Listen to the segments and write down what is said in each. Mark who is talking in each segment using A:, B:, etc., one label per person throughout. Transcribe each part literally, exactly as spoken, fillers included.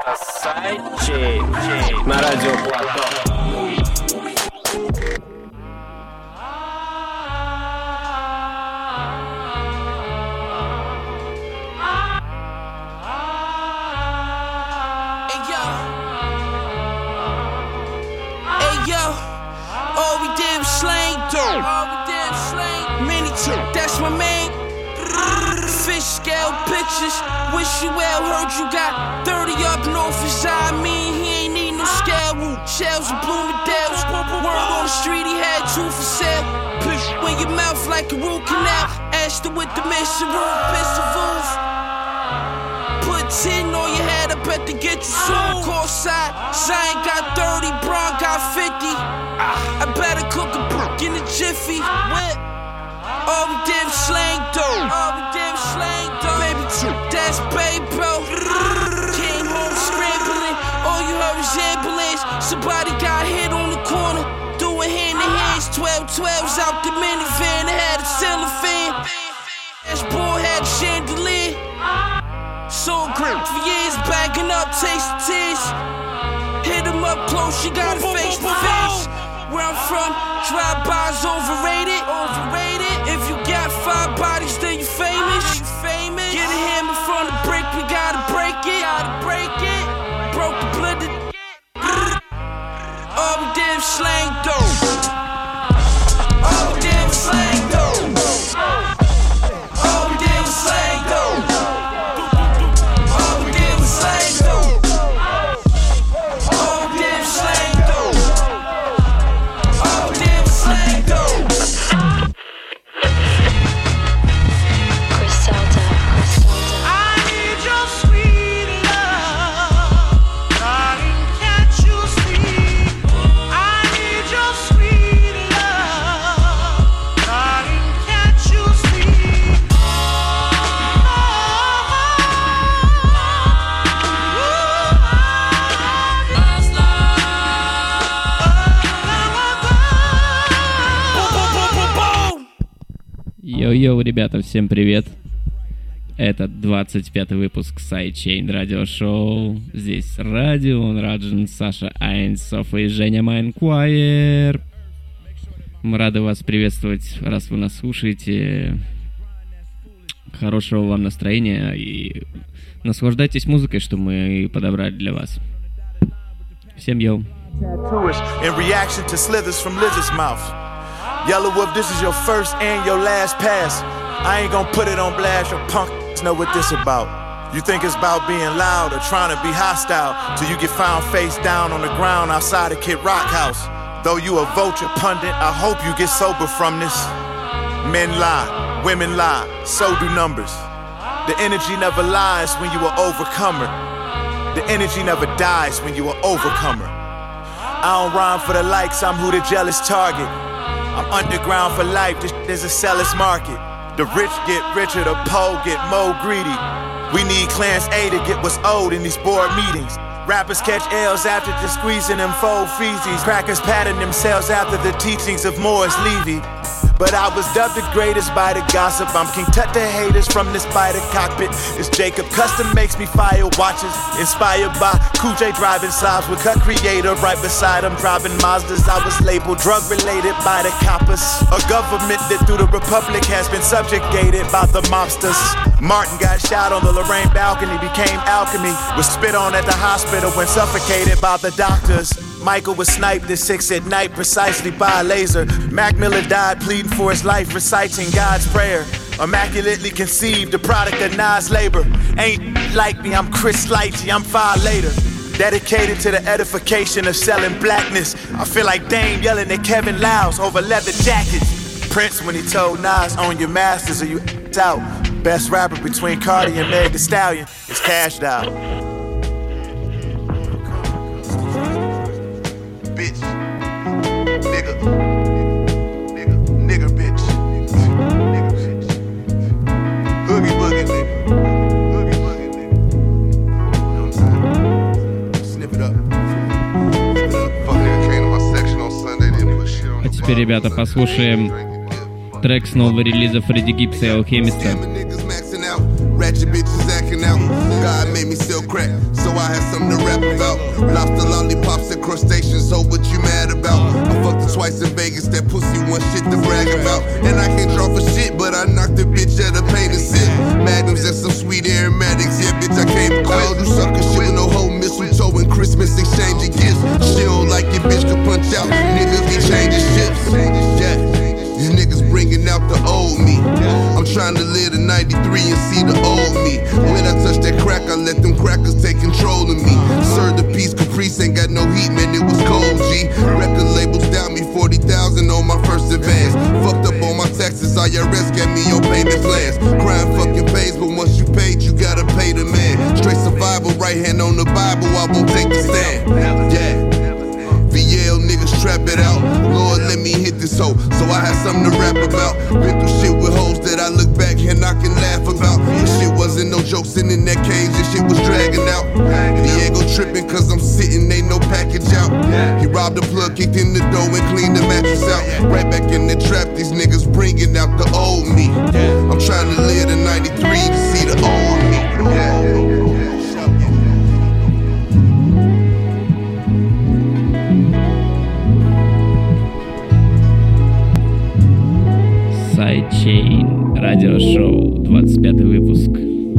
A: Сайдчейн на радио Плато.
B: That's my man. Fish scale pictures. Wish you well, heard you got thirty up north his eye. I mean, he ain't need no scale root. Shells and Bloomingdale's. Word on the street, he had two for sale. Push in your mouth like a root canal. Ashton with the mission room, pistol roof. Put ten on your head, I bet to get you soon. Call side, Zion got thirty, Bron got fifty. I better cook a brick in a jiffy. What? All we damn slang though. All we damn slang though. Baby, that's babe, bro. Came home scrambling. All you heard was ambulance. Somebody got hit on the corner. Doing hand to hands. twelve twelves out the minivan. They had a ceiling fan. This boy had a chandelier. So great for years. Bagging up, taste tears. Hit him up close. She got a face to face. Where I'm from, drive-bys overrated. Overrated. If you got five bodies, then you famous. You famous. Get a hammer from the brick, we gotta break it. Gotta break it. Broke the blended. All we damn slang though. All we damn slang though. All we damn slang though. All we damn slang though. All we damn slang though. All we damn slang though.
C: Йоу-йоу, ребята, всем привет. Это двадцать пятый выпуск Сайдчейн радиошоу. Здесь Радион, Раджин, Саша Айнс, Софа и Женя Майнквайер. Мы рады вас приветствовать, раз вы нас слушаете. Хорошего вам настроения и наслаждайтесь музыкой, что мы подобрали для вас. Всем йоу.
D: In reaction to slithers from lizard's mouth. Yellow Wolf, this is your first and your last pass. I ain't gonna put it on blast, your punk know what this about. You think it's about being loud or trying to be hostile till you get found face down on the ground outside of Kid Rock House. Though you a vulture pundit, I hope you get sober from this. Men lie, women lie, so do numbers. The energy never lies when you are overcomer. The energy never dies when you are overcomer. I don't rhyme for the likes, I'm who the jealous target. I'm underground for life, this is a seller's market. The rich get richer, the poor get more greedy. We need Clarence A to get what's owed in these board meetings. Rappers catch L's after just squeezing them full feces. Crackers pattern themselves after the teachings of Morris Levy. But I was dubbed the greatest by the gossip. I'm King Tut the haters from the spider cockpit. It's Jacob Custom makes me fire watches. Inspired by Cool J driving slobs with Cut Creator right beside him driving Mazdas. I was labeled drug related by the coppers. A government that through the Republic has been subjugated by the mobsters. Martin got shot on the Lorraine balcony, became alchemy. Was spit on at the hospital when suffocated by the doctors. Michael was sniped at six at night precisely by a laser. Mac Miller died pleading for his life, reciting God's prayer. Immaculately conceived, the product of Nas' labor. Ain't like me, I'm Chris Lighty, I'm far later. Dedicated to the edification of selling blackness. I feel like Dame yelling at Kevin Lyles over leather jackets. Prince when he told Nas, own your masters or you out. Best rapper between Cardi and Meg Thee Stallion is Cashed Out. Bitch, nigga, nigga, nigga, bitch, nigga, bitch, boogie, boogie, nigga, boogie, boogie, nigga. You know what I'm saying? Snip it up, snip it up. Fuck nigga came to my section on Sunday, didn't put shit on.
C: А теперь, ребята, послушаем трек с нового релиза Фредди Гибса и Алхемиста.
D: Ratchet bitches acting out. God made me sell crack, so
E: I had something to rap about. Lobster lollipops and crustaceans, so what you mad about? I fucked her twice in Vegas, that pussy one shit to brag about. And I can't draw for shit, but I knocked a bitch at a pain and sip. Magnums and some sweet aromatics, yeah, bitch, I came to quit. I don't do sucker shit with no whole mistletoe and Christmas exchanging gifts. She don't like it, bitch, could punch out. Niggas be changing ships. Yeah, these niggas bringing out the old me. I'm trying to live the ninety-three and see the old me. When I touch that crack, I let them crackers take control of me. Served a piece, Caprice ain't got no heat, man, it was cold, G. Record labels down me forty thousand on my first advance. Fucked up on my taxes, I R S got me your payment plans. Crime fucking pays, but once you paid, you gotta pay the man. Straight survival, right hand on the Bible, I won't take the stand. Yeah. V L niggas trap it out. Lord, let me hit this hoe, so I had something to rap about. Been through shit with hoes that I look back and I can laugh about. This shit wasn't no joke, sitting in that cage, this shit was dragging out. Diego tripping cause I'm sitting, ain't no package out. He robbed the plug, kicked in the door and cleaned the mattress out. Right back in the trap, these niggas bringing out the old me. I'm trying to live the ninety-three to see the old me.
C: Сайдчейн, радиошоу, двадцать пятый выпуск.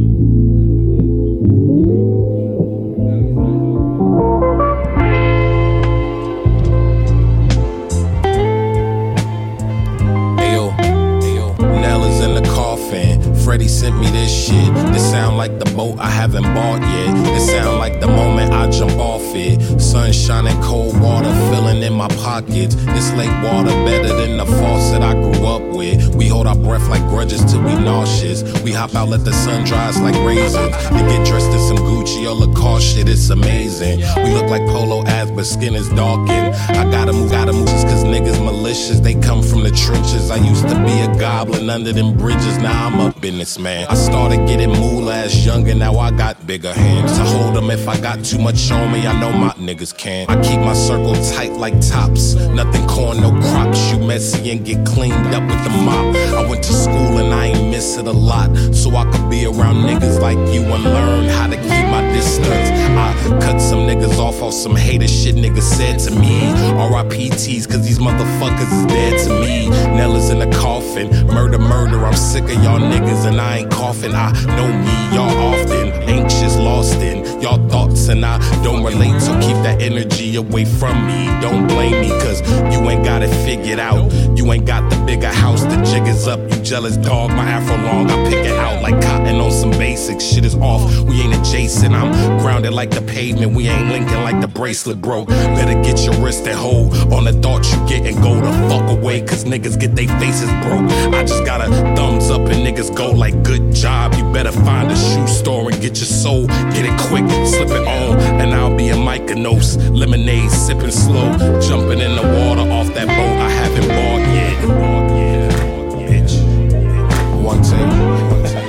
F: Ayo, ayo, Nell is in the coffin. Freddie sent me this shit. This sound like the boat I haven't bought yet. This sound like the moment I jump off it. Sun shining, cold water filling in my pockets. This lake water better than the faucet I grew up with. We hold our breath like grudges till we nauseous. We hop out, let the sun dry us like raisins. You get dressed in some Gucci or Lacoste shit, it's amazing. We look like polo ads, but skin is darkened. I gotta move, gotta move, cause niggas malicious. They come from the trenches. I used to be a goblin under them bridges. Now I'm a businessman. I started getting moolah as young and now I got bigger hands. I hold them if I got too much on me, I know my niggas can. I keep my circle tight like tops. Nothing corn, no crops. You messy and get cleaned up with the mop. I went to school and I ain't miss it a lot, so I could be around niggas like you and learn how to keep my distance. I cut some niggas off on some hater shit niggas said to me. R I P Ts cause these motherfuckers is dead to me. Nell is in a coffin. Murder, murder, I'm sick of y'all niggas and I ain't coughing. I know me, y'all often anxious, lost in y'all thoughts and I don't relate, so keep that energy away from me. Don't blame me cause you ain't got it figured out. You ain't got the bigger house, the jig is up. You jealous dog, my afro long, I pick it out like cotton on some basics. Shit is off, we ain't adjacent. I'm grounded like the pavement, we ain't linking like the bracelet broke. Better get your wrist and hold on the thought you get and go the fuck away, cause niggas get they faces broke. I just got a thumbs up and niggas go like good job. You better find a shoe store and get your soul, get it quick, slip it on, and I'll be a Mykonos. Lemonade sipping slow, jumping in the water off that boat I haven't bought yet. Bitch, one take.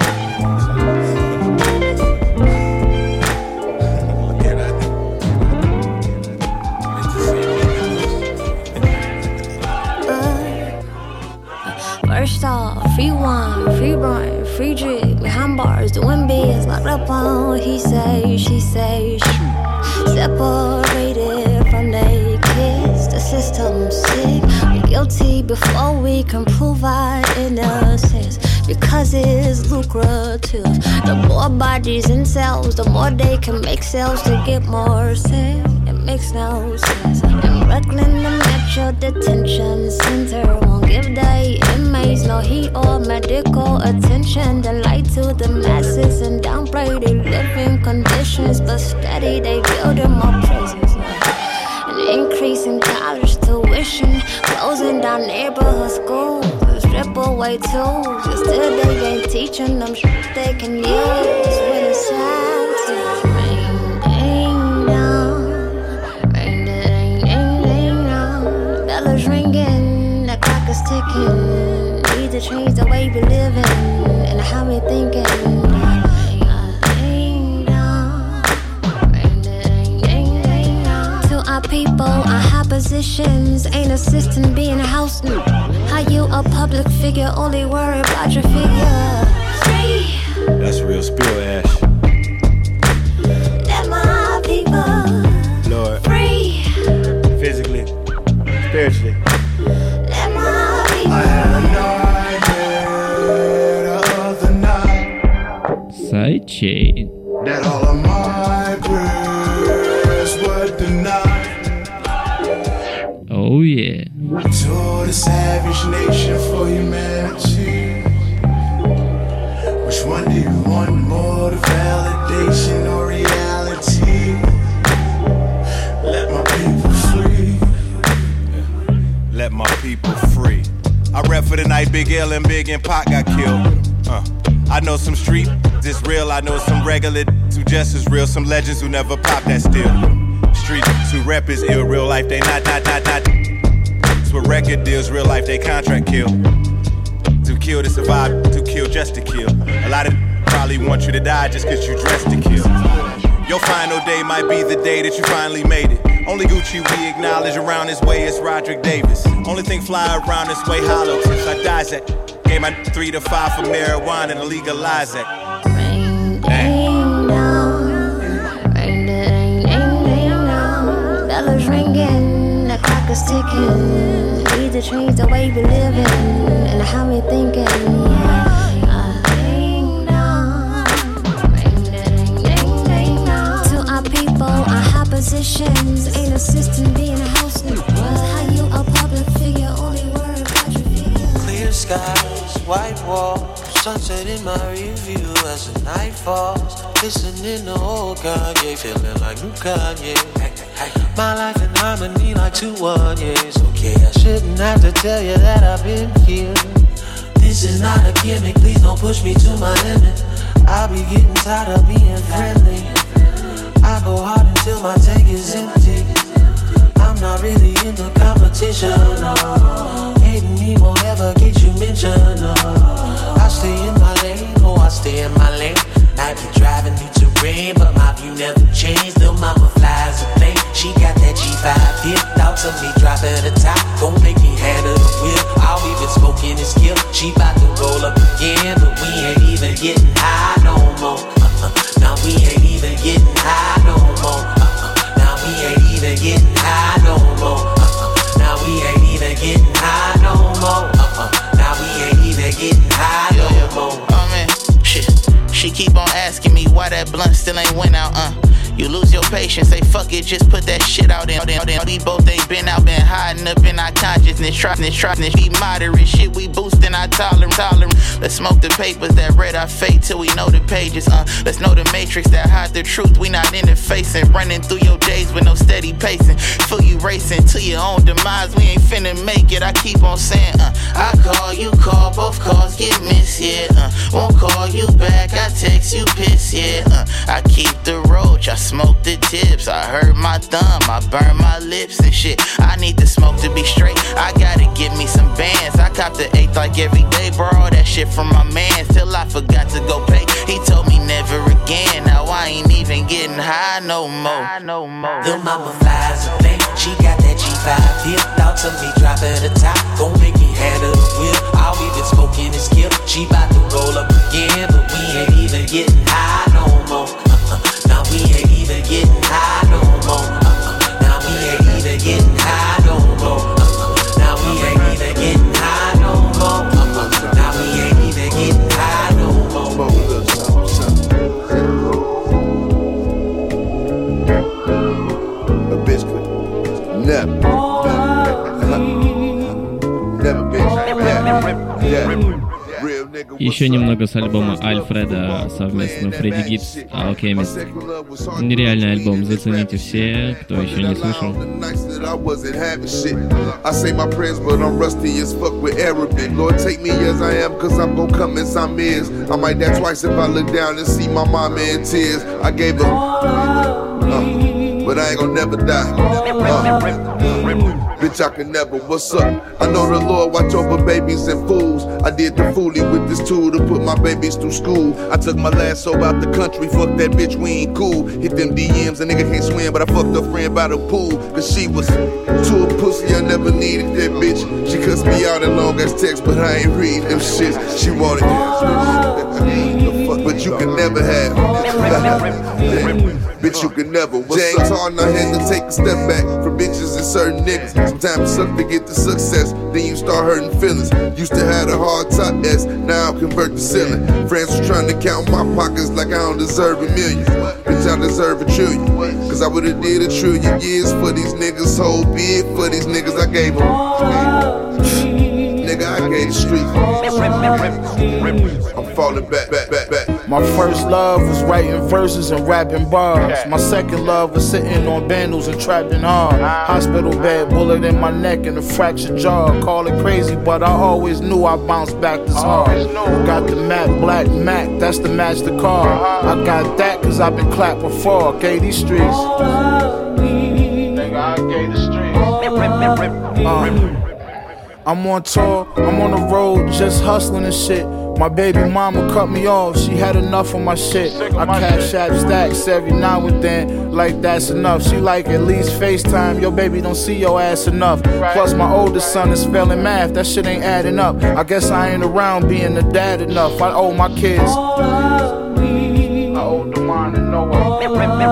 G: First off, free wine, free brine, free drink, behind bars, doing biz, locked up on he say, she say, shoot. Separated from their kids, the system's sick. We're guilty before we can prove our innocence, because it's lucrative. The more bodies in cells, the more they can make cells to get more sick. It makes no sense. In Brooklyn, the Metro Detention Center won't give the inmates no heat or medical attention. They lie to the masses and downplay their living conditions, but steady they building more prisons. An increase in college tuition, closing down neighborhood schools, strip away tools. Just till they ain't teaching them shit they can use when it's time to rain, ding down, rain, ding, ding, ding down. Bells ringing, the clock is ticking. Need to change the way we living and how we thinking. People on high positions ain't assisting being a house. How you a public figure only worry about your figure?
A: That's real spill, Ash.
G: Let my
H: To the savage nation for humanity. Which one do you want more, the validation or reality? Let my people free.
D: Let my people free. I rep for the night, Big L and Big and Pac got killed. Uh, I know some street, it's real. I know some regular who just as real. Some legends who never pop that still. Street who rep is ill, real life they not, not, not, not. It's what record deals, real life they contract kill. To kill to survive, to kill just to kill. A lot of probably want you to die just cause you dressed to kill. Your final day might be the day that you finally made it. Only Gucci we acknowledge around this way is Roderick Davis. Only thing fly around this way hollow tips. I dies at. Gave my three to five for marijuana and legalize it.
G: Rain, ding, dong. Rain, ding, ding, ding, dong. Bells ringing, the clock is ticking. Need to change the way we living and how we thinking. Uh, ding, dong. Rain, ding, ding, ding, dong. To our people, our high positions ain't assisting being a host. How you a public figure, only worry about your figure.
I: Clear skies, white walls, sunset in my review as the night falls. Listening to old Kanye, feeling like new Kanye. My life in harmony like two one years. Okay, I shouldn't have to tell you that I've been here. This is not a gimmick, please don't push me to my limit. I'll be getting tired of being friendly. I go hard until my tank is empty. I'm not really in the competition, no. Hating me won't ever get you mentioned, no. I stay in my lane, oh I stay in my lane. I be driving new terrain, but my view never changed. Lil' mama flies a plane, she got that G five hip. Thoughts of me dropping the top, gon' make me handle the wheel. All we been smoking is skill, she bout to roll up again. But we ain't even getting high no more. Uh-uh. Now we ain't even getting high no more. Uh-uh. Now we ain't even getting high no more. Uh-uh. Now we ain't even getting high no more. Uh-uh. Now we ain't even getting high no more.
J: Oh man, shit. She keep on asking me why that blunt still ain't went out, uh. You lose your patience, say fuck it, just put that shit out in. We both ain't been out, been hiding up in our consciousness. Trying to try to be moderate, shit we boosting our tolerance. Let's smoke the papers that read our fate till we know the pages, uh. Let's know the matrix that hide the truth, we not interfacing. Running through your days with no steady pacing. Feel you racing to your own demise, we ain't finna make it, I keep on saying, uh. I call, you call, both calls get missed, yeah, uh. Won't call you back, I text you piss, yeah, uh. I keep the roach, I smoke the tips, I hurt my thumb, I burn my lips and shit. I need the smoke to be straight, I gotta get me some bands. I cop the eighth like every day, borrow that shit from my man till I forgot to go pay. He told me never again, now I ain't even getting high no more. No more.
I: Lil' mama flies a plane, she got that G five hip. Thoughts of me dropping the top, gon' make me handle the wheel. All we been smoking is skill, she bout to roll up again. But we ain't even getting high no more. Uh-uh. Now we ain't even getting high no more. Uh-uh. Now we ain't even getting high no more. Uh-uh. Now we ain't even getting high no more. Uh-uh. Now we ain't even getting high no more.
E: A bitch could never, never, bitch, never, never.
C: Еще немного с альбома Альфреда совместно Фредди Гибс «Alchemist». Нереальный альбом, зацените все, кто еще не слышал.
E: I say my prayers, but I'm rusty as fuck with Arabic. Lord, take me as I am, cause I'm gon' come as I'm is. I might die twice if I look down and see my mama in tears. I gave her, uh, but I ain't gon' never die. Uh, Bitch, I can never, what's up? I know the Lord watch over babies and fools. I did the fooling with this tool to put my babies through school. I took my last soul out the country, fuck that bitch, we ain't cool. Hit them D Ms, a nigga can't swim, but I fucked a friend by the pool. Cause she was too a pussy, I never needed that bitch. She cussed me out in long ass text, but I ain't reading them shits. She wanted the fuck, but you can never have. Bitch, you can never. What's James up? I had to take a step back from bitches and certain niggas. Sometimes you suck to get the success, then you start hurting feelings. Used to have a hard top S, now I'm convert to ceiling. Friends was trying to count my pockets like I don't deserve a million. Bitch, I deserve a trillion. Cause I would've did a trillion years for these niggas. Whole bid for these niggas, I gave them. Nigga, I gave the street. I'm falling back, back, back, back.
K: My first love was writing verses and rapping bars. My second love was sitting on bundles and trapping hard. Hospital bed, bullet in my neck and a fractured jaw. Call it crazy, but I always knew I bounced back this hard. Got the Mac, Black Mac, that's the match the car. I got that cause I've been clapped before. Gave these streets. Nigga, I gave the streets. Uh. I'm on tour, I'm on the road, just hustling and shit. My baby mama cut me off, she had enough of my shit. I cash out stacks every now and then, like that's enough. She like at least FaceTime, yo baby don't see your ass enough. Plus my oldest son is failing math, that shit ain't adding up. I guess I ain't around being the dad enough. I owe my kids, I owe the mine and Noah.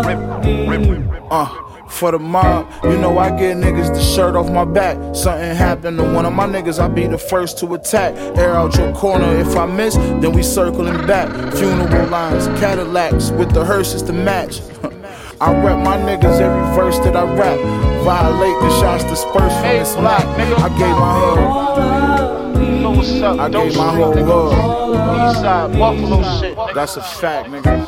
K: Uh For the mob, you know I get niggas the shirt off my back. Something happened to one of my niggas, I be the first to attack. Air out your corner, if I miss, then we circling back. Funeral lines, Cadillacs with the hearses to match. I rep my niggas every verse that I rap. Violate the shots dispersed from this lack. I gave my hood, I gave my whole world. Eastside Buffalo shit, that's a fact, nigga.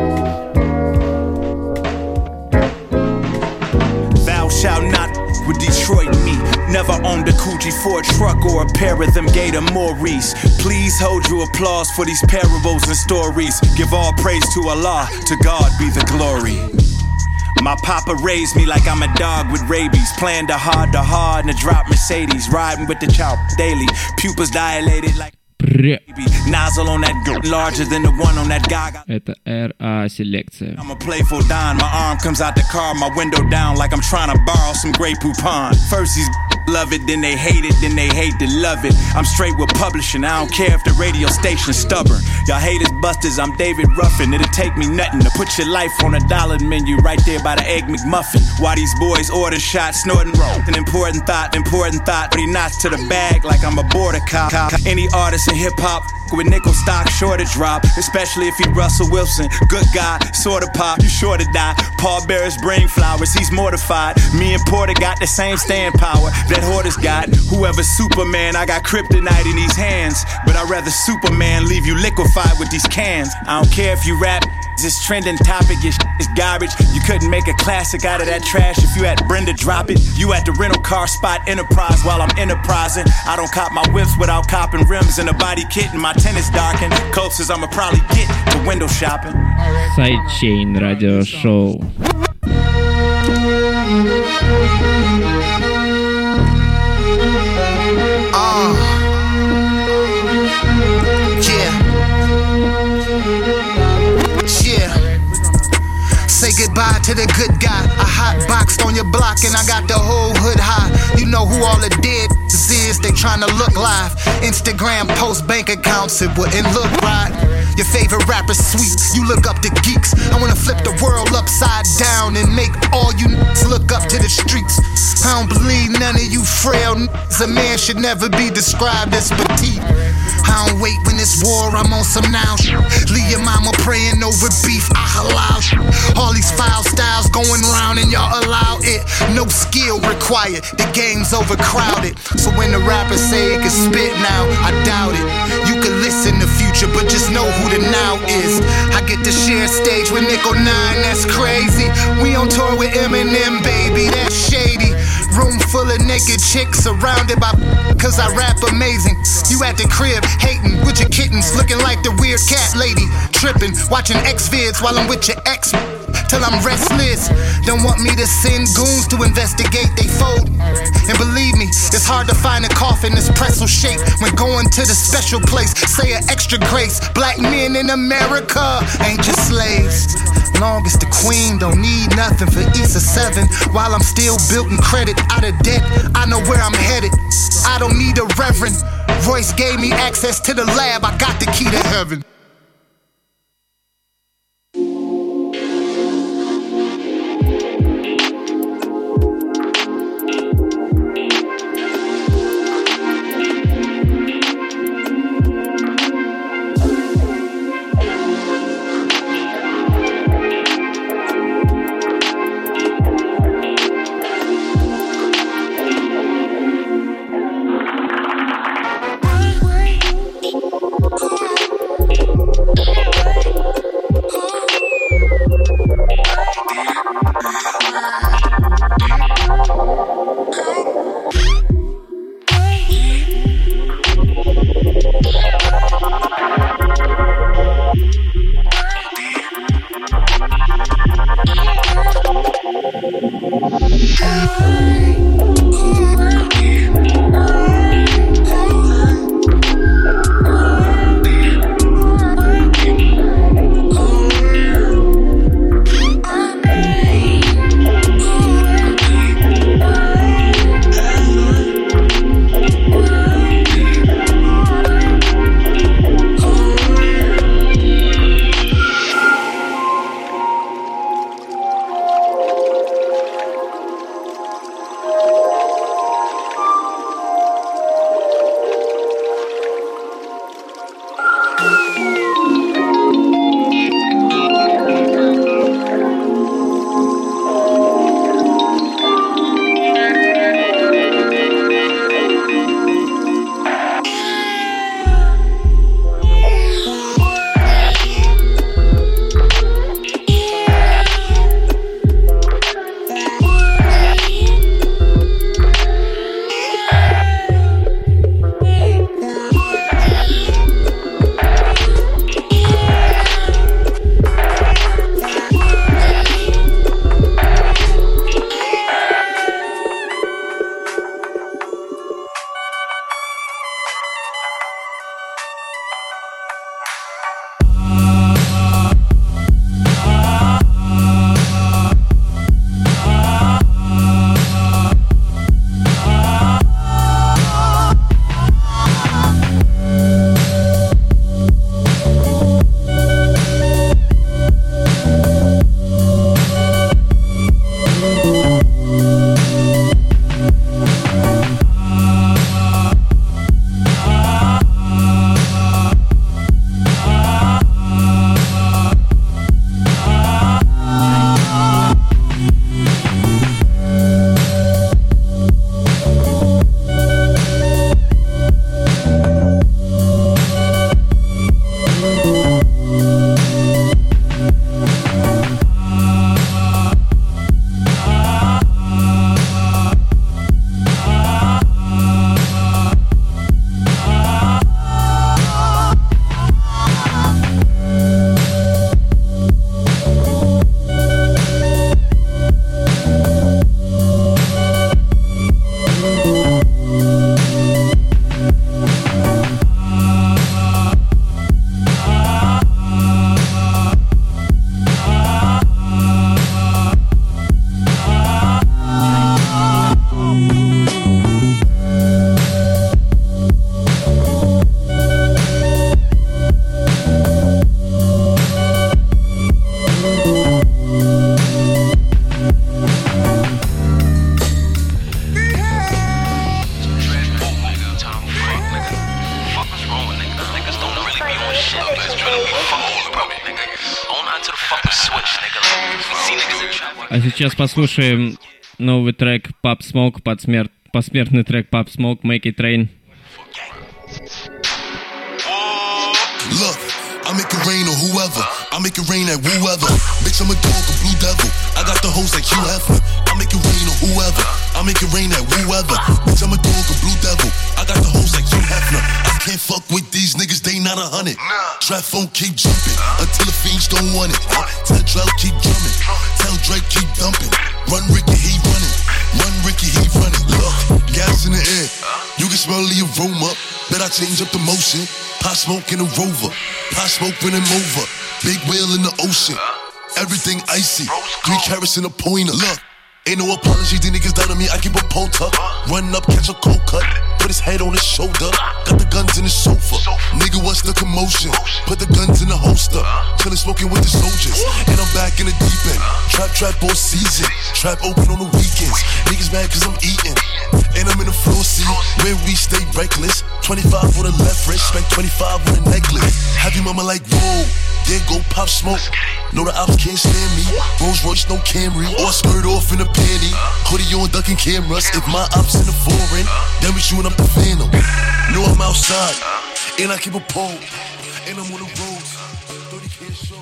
L: Shall not with Detroit me. Never owned a Coochie Ford truck or a pair of them Gator Maurice. Please hold your applause for these parables and stories. Give all praise to Allah, to God be the glory. My papa raised me like I'm a dog with rabies. Playing the hard, the hard, and the drop Mercedes. Riding with the chop daily. Pupils dilated like nozzle on that goat larger than the one on that gaga.
C: Это эр а селекция.
L: I'm a playful don. My arm comes out the car, my window down like I'm trying to borrow some Grey Poupon. First these love it, then they hate it, then they hate to love it. I'm straight with publishing, I don't care if the radio station's stubborn. Y'all haters busters, I'm David Ruffin. It'll take me nothing to put your life on a dollar menu right there by the Egg McMuffin. Why these boys order shots, snorting roll. An important thought, important thought. But he knots to the bag like I'm a border cop. Any artist in hip-hop with nickel stock sure to drop, especially if he Russell Wilson. Good guy, sorta pop, you sure to die. Paul Bear's brain flowers, he's mortified. Me and Porter got the same stand power that Hoarders got. Whoever's Superman, I got kryptonite in these hands. But I'd rather Superman leave you liquefied with these cans. I don't care if you rap, this trending topic is is garbage. You couldn't make a classic out of that trash if you had Brenda drop it. You at the rental car spot Enterprise while I'm enterprising. I don't cop my whips without copping rims and a body kit and my tennis darkened. Closest I'ma probably get to window shopping.
C: Сайдчейн радиошоу.
J: Uh, yeah. Yeah. Say goodbye to the good guy. I hot boxed on your block and I got the whole hood high. You know who all the dead is, they tryna look live. Instagram post bank accounts, it wouldn't look right. Your favorite rapper's sweet, you look up to geeks. I wanna flip the world upside down and make all you n***s look up to the streets. I don't believe none of you frail n***s. A man should never be described as petite. I don't wait when it's war, I'm on some now sh**. Leave your mama praying over beef, I halal sh**. All these foul styles going round and y'all allow it. No skill required, the game's overcrowded. So when the rappers say it can spit now, I doubt it. You can listen to Future, but just know who the now is. I get to share stage with Nickel nine, that's crazy. We on tour with Eminem, baby, that's shady. Room full of naked chicks surrounded by cause I rap amazing. You at the crib hating with your kittens, looking like the weird cat lady. Tripping, watching X-vids while I'm with your ex till I'm restless. Don't want me to send goons to investigate, they fold. And believe me, it's hard to find a coffin that's pretzel shaped when going to the special place. Say an extra grace. Black men in America ain't just slaves. Long as the queen don't need nothing for Issa seven. While I'm still building credit out of debt, I know where I'm headed. I don't need a reverend. Royce gave me access to the lab, I got the key to heaven.
C: сейчас послушаем новый трек Pop Smoke, подсмер... посмертный трек Pop Smoke, Make It Rain.
M: Look, I make it rain on whoever. I make it rain at whoever. Bitch, I'm a dog, a blue devil. I got the hoes like Hugh Hefner. I make it rain on whoever. I make it rain at whoever. Bitch, I'm a dog, a blue devil. I got the hoes like Hugh Hefner. I can't fuck with these niggas, they not a hundred. Trap phone keep jumping until the fiends don't want it. Tell Drell keep drumming. Tell Drake keep dumping. Run Ricky, he running. Run Ricky, he running. Look, gas in the air. You can smell the aroma. Bet I change up the motion. Pot smoke in a Rover. Pot smoke when I'm over. Big whale in the ocean. Everything icy. Three carats in a pointer. Look, ain't no apology. These niggas down on me. I keep a pole tuck. Run up, catch a cold cut. Put his head on his shoulder. Got the guns in the sofa. Nigga, what's the commotion? Put the guns in the holster. Chillin' smoking with the soldiers. And I'm back in the deep end. Trap, trap all season. Trap open on the weekends. Niggas mad cause I'm eating. And I'm in the floor seat. Where we stay reckless. twenty-five on the left wrist. Spent twenty-five on a necklace. Have your mama like, whoa. There go Pop Smoke. No, the ops can't stand me. Rolls Royce, no Camry. Or skirt off in a panty. Hoodie on, ducking cameras. If my ops in the foreign, then we shooting up the Phantom. Know I'm outside, and I keep a pole. And I'm on the roads. thirty K shows.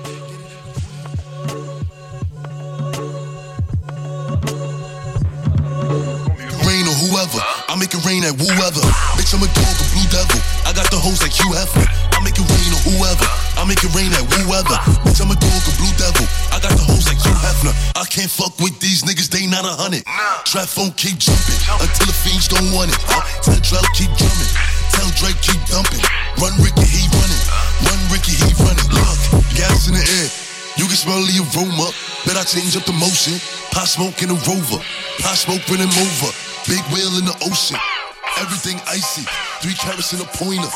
M: Rain or whoever. I make it rain at whoever. Bitch, I'm a dog, a blue devil. I got the hoes like Hugh Hefner. I make it rain on whoever. I make it rain at whoever. Bitch, I'm a dog, a blue devil. I got the hoes like Hugh Hefner. I can't fuck with these niggas, they not a hundred. Trap phone keep jumping until the fiends don't want it. Tell Drell keep drumming. Tell Drake keep dumping. Run Ricky, he running. Run Ricky, he running. Look, gas in the air. You can smell the aroma. Bet I change up the motion. Pot smoke in a Rover. Pot smoke when I'm over. Big whale in the ocean. Everything icy. Three carats in a pointer.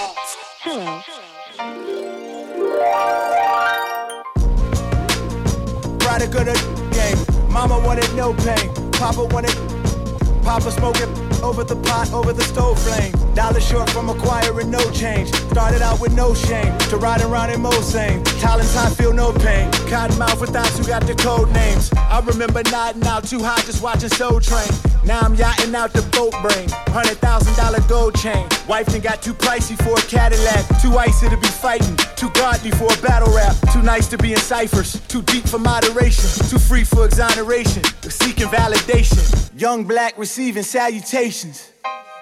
N: Product of the game. Mama wanted no pain. Papa wanted. Papa smoking over the pot, over the stove flame. Dollar short from acquiring no change. Started out with no shame to riding around in Mosane. Talents I feel no pain. Cotton mouth with thoughts who got the code names. I remember nodding out too hot just watching Soul Train. Now I'm yachting out the boat brain. Hundred thousand dollar gold chain. Wife done got too pricey for a Cadillac. Too icy to be fighting. Too godly for a battle rap. Too nice to be in ciphers. Too deep for moderation. Too free for exoneration. Seeking validation. Young black receiving salutations.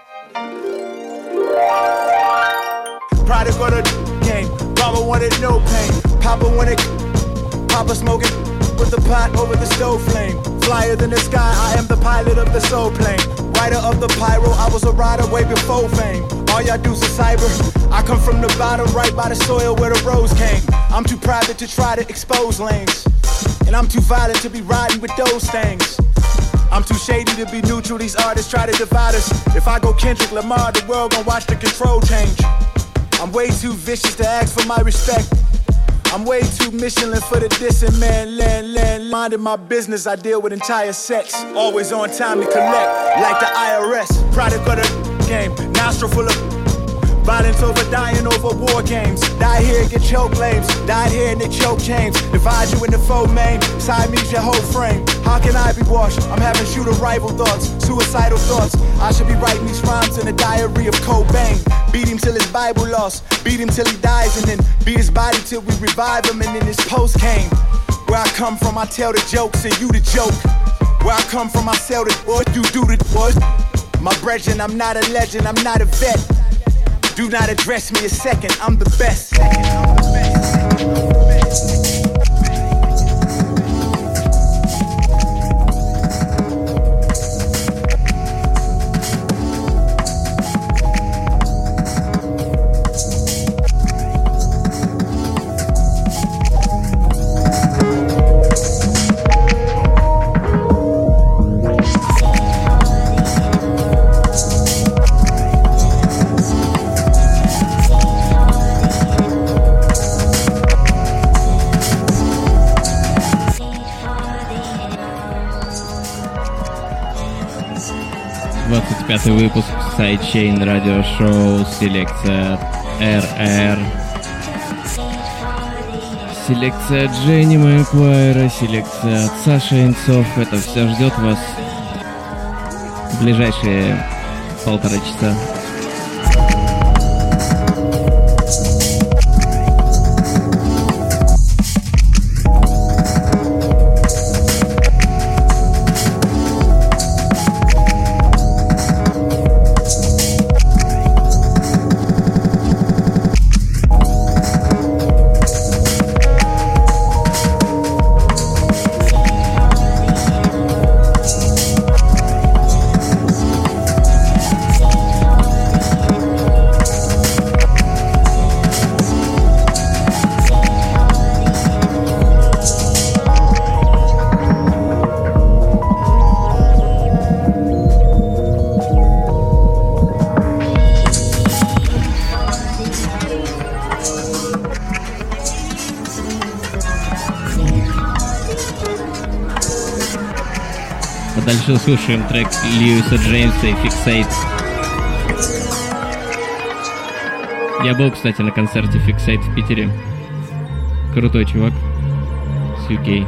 N: Product of the game. Mama wanted no pain. Papa wanted. Papa smoking with the pot over the stove flame. Flyer than the sky, I am the pilot of the soul plane. Writer of the pyro, I was a rider way before fame. All y'all dudes are cyber. I come from the bottom, right by the soil where the rose came. I'm too private to try to expose lanes. And I'm too violent to be riding with those things. I'm too shady to be neutral, these artists try to divide us. If I go Kendrick Lamar, the world gon' watch the control change. I'm way too vicious to ask for my respect. I'm way too Michelin for the dissing, man, land, land. Minding my business, I deal with entire sets. Always on time to collect, like the I R S. Product of the game, nostril full of violence over dying over war games. Die here, get choke lames. Died here and they choke chains. Divide you into foe main. Siamese your whole frame. How can I be washed? I'm having shooter rival thoughts, suicidal thoughts. I should be writing these rhymes in the diary of Cobain. Beat him till his Bible lost. Beat him till he dies and then beat his body till we revive him and then his post came. Where I come from, I tell the jokes and you the joke. Where I come from, I sell the what you do the what. My brethren, I'm not a legend, I'm not a vet. Do not address me a second, I'm the best. Second, I'm the best.
C: двадцать пятый выпуск Sidechain радиошоу, селекция эр эр. селекция от Дженни Манквайра, селекция от Саши Энцов. Это все ждет вас в ближайшие полтора часа. Дальше слушаем трек Льюиса Джеймса и Fixate. Я был, кстати, на концерте Fixate в Питере. Крутой чувак с ю кей.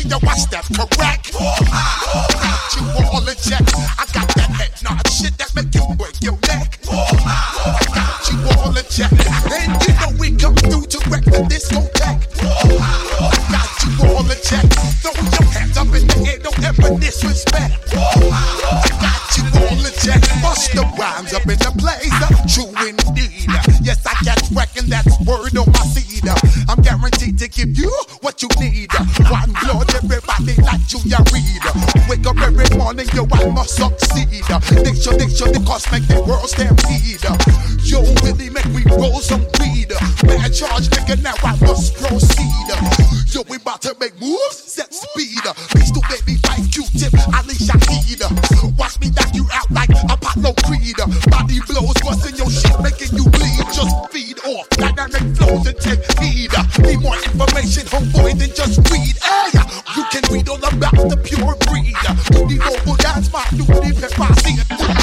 O: yo, watch that correct. Got you all in check. I got that head nod shit that make you break your neck. I got you all in check. And you know we come through to wreck the discotheque. I got you all in check. Throw your hands up in the air, don't ever disrespect. I got you all in check. Bust the rhymes up in the place. True indeed. Yes, I get wrecking, that's word on my seed. I'm guaranteed to give you what you need. One blood, everybody like Julia Reed. Wake up every morning, yo, I must succeed. Nation, nation, the cost make the world stampede. Yo, really make me roll some weed. Man, charge, nigga, now I must proceed. Yo, we about to make moves, set speed. Pistol baby, fight Q-tip, Ali Shaheed. Watch me knock you out like Apollo Creed. Body blows, busting your shit, making you bleed. Just feed off dynamic flows and take heed. Need more information, homeboy, than just read. Hey, you can read all about the pure breed. You need noble dance, my new deep and my seat.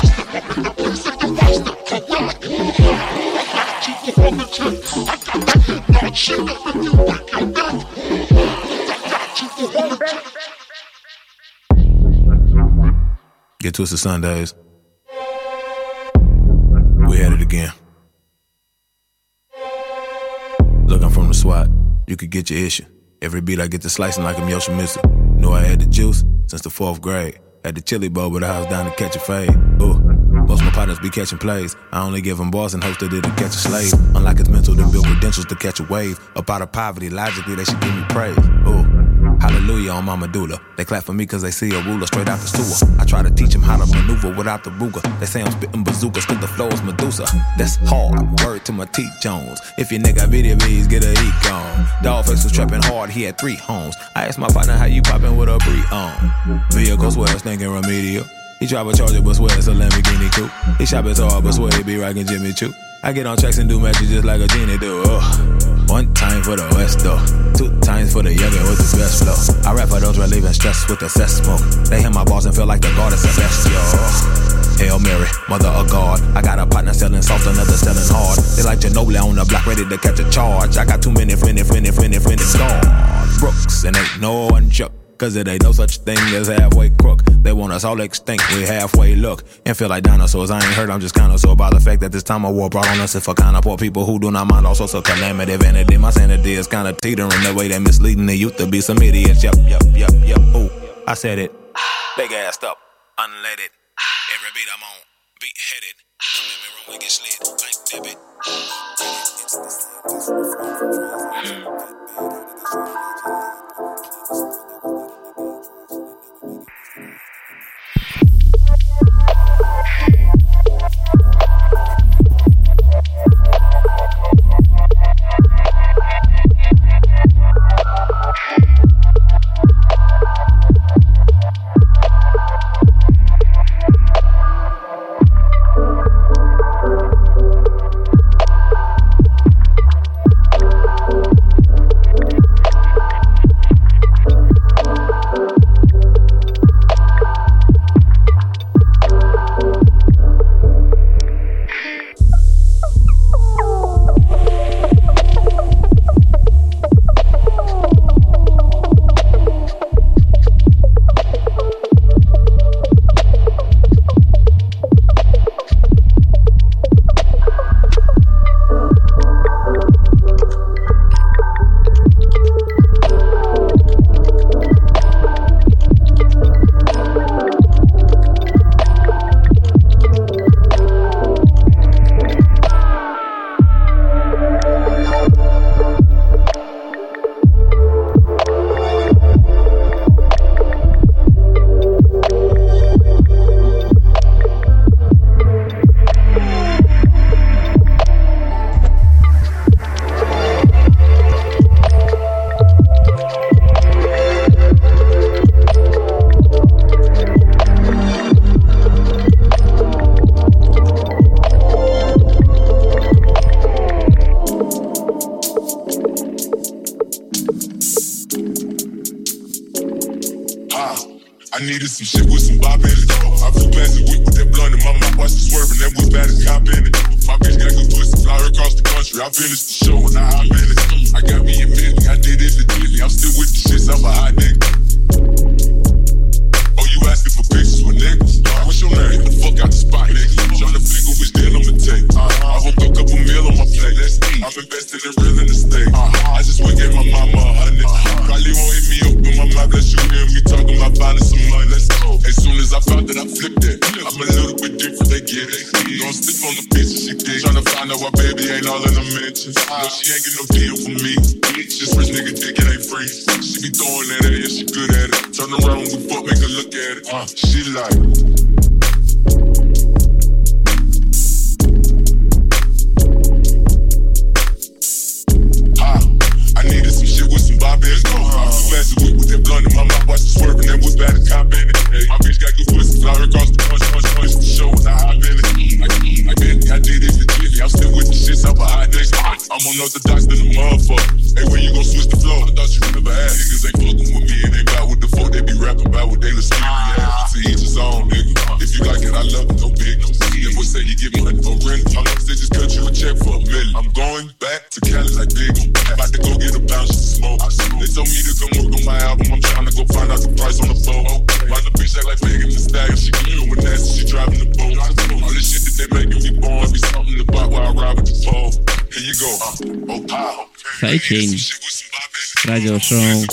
P: Get Twisted Sundays. We had it again. Look, I'm from the SWAT. You could get your issue. Every beat I get to slicing like I'm Yoshimitsu. Knew I had the juice since the fourth grade. Had the chili bowl, but I was down to catch a fade. Ooh, most of my partners be catching plays. I only give them balls and hopes that it'll catch a slave. Unlike it's mental, then build credentials to catch a wave. Up out of poverty, logically they should give me praise. Ooh, hallelujah on my medulla. They clap for me cause they see a ruler straight out the sewer. I try to teach them how to maneuver without the Ruger. They say I'm spitting bazookas cause the flow is Medusa. That's hard, word to my T Jones. If your nigga video bees, get a heat gone. Dogface was trapping hard, he had three homes. I asked my partner how you poppin' with a Brie on. Vehicle swear, thinking remedial. He drive a Charger but swear it's a Lamborghini coupe. He shop his hard but swear he be rockin' Jimmy Choo. I get on tracks and do magic just like a genie do. Ugh. One time for the West though, two times for the youngin' with the best flow. I rap for those relieving stress with the cess smoke. They hear my balls and feel like the goddess of best, yo. Hail Mary, mother of God. I got a partner selling soft, another selling hard. They like Ginobili on the block, ready to catch a charge. I got too many friendly, friendly, friendly, friendly scars. Brooks, and ain't no one Chuck. Cause it ain't no such thing as halfway crook. They want us all extinct, we halfway look. And feel like dinosaurs, I ain't hurt, I'm just kinda sore by the fact that this time of war brought on us for kinda poor people who do not mind all sorts of calamity. Vanity, my sanity is kinda teetering the way they misleading the youth to be some idiots. Yup, yup, yup, yup, ooh, I said it. Big assed up, unleaded. Every beat I'm on, beat headed. Don't let me wrong, we get slid like debit.
Q: needed some shit with some bop in it. I flew past the week with that blunt in my mouth, watched it swerving, that was bad as cop in it. My bitch got good pussy, fly her across the country. I finished the show and I hop in it. I got me a million, I did it legitly. I'm still with the shits, I'm a hot nigga. asking for pictures with niggas. What's your name? Get the fuck out the spot, nigga. Tryna figure which deal I'ma take. I hope a couple meal on my plate. Let's eat. I'm invested in real estate. I just went gave my mama a hundred. Probably won't hit me up in my mouth. Let's you hear me talking about finding some money. Let's go. As soon as I found that, I flipped it. I'm a little bit different, they get it. Don't stick on the bitch she did. Tryna find out why baby ain't all in the mentions. No, she ain't get no deal from me. Just rich nigga dick, it ain't free. She be throwing that at, yeah, she good at it. Turn around when we fuck, make her look at it. Uh, she like. I needed some shit with some bop ass go. I'm too classy with, with that blunt in my mouth. Watch the swerving, that was bad as cop in it. Hey, my bitch got good pussy, fly her across the punch, punch, punch. The show was I hop in it. I, I did, I did it legitly. I'm still with the shits up a hot next. I'm unorthodox than a motherfucker. Hey, when you gon' switch the flow? I thought you never had. Niggas ain't fucking with me and they bout what the fuck they be rapping about what they listen to. Yeah, to each his own, nigga. If you like it, I love it, no big. If we say you get money for rent, I'm up, they just cut you a check for a million. I'm going back to Cali like big. About to go get a bounce of smoke. They told me to come work on my album. I'm trying to go find out the price on the boat. Why the bitch act like Megan Thee Stallion? She can do with nasty, she driving the boat. All this shit that they making me born be something about while I ride with the pole. Here you go. Oh, pow.
C: Сайчейн. Радиошоу.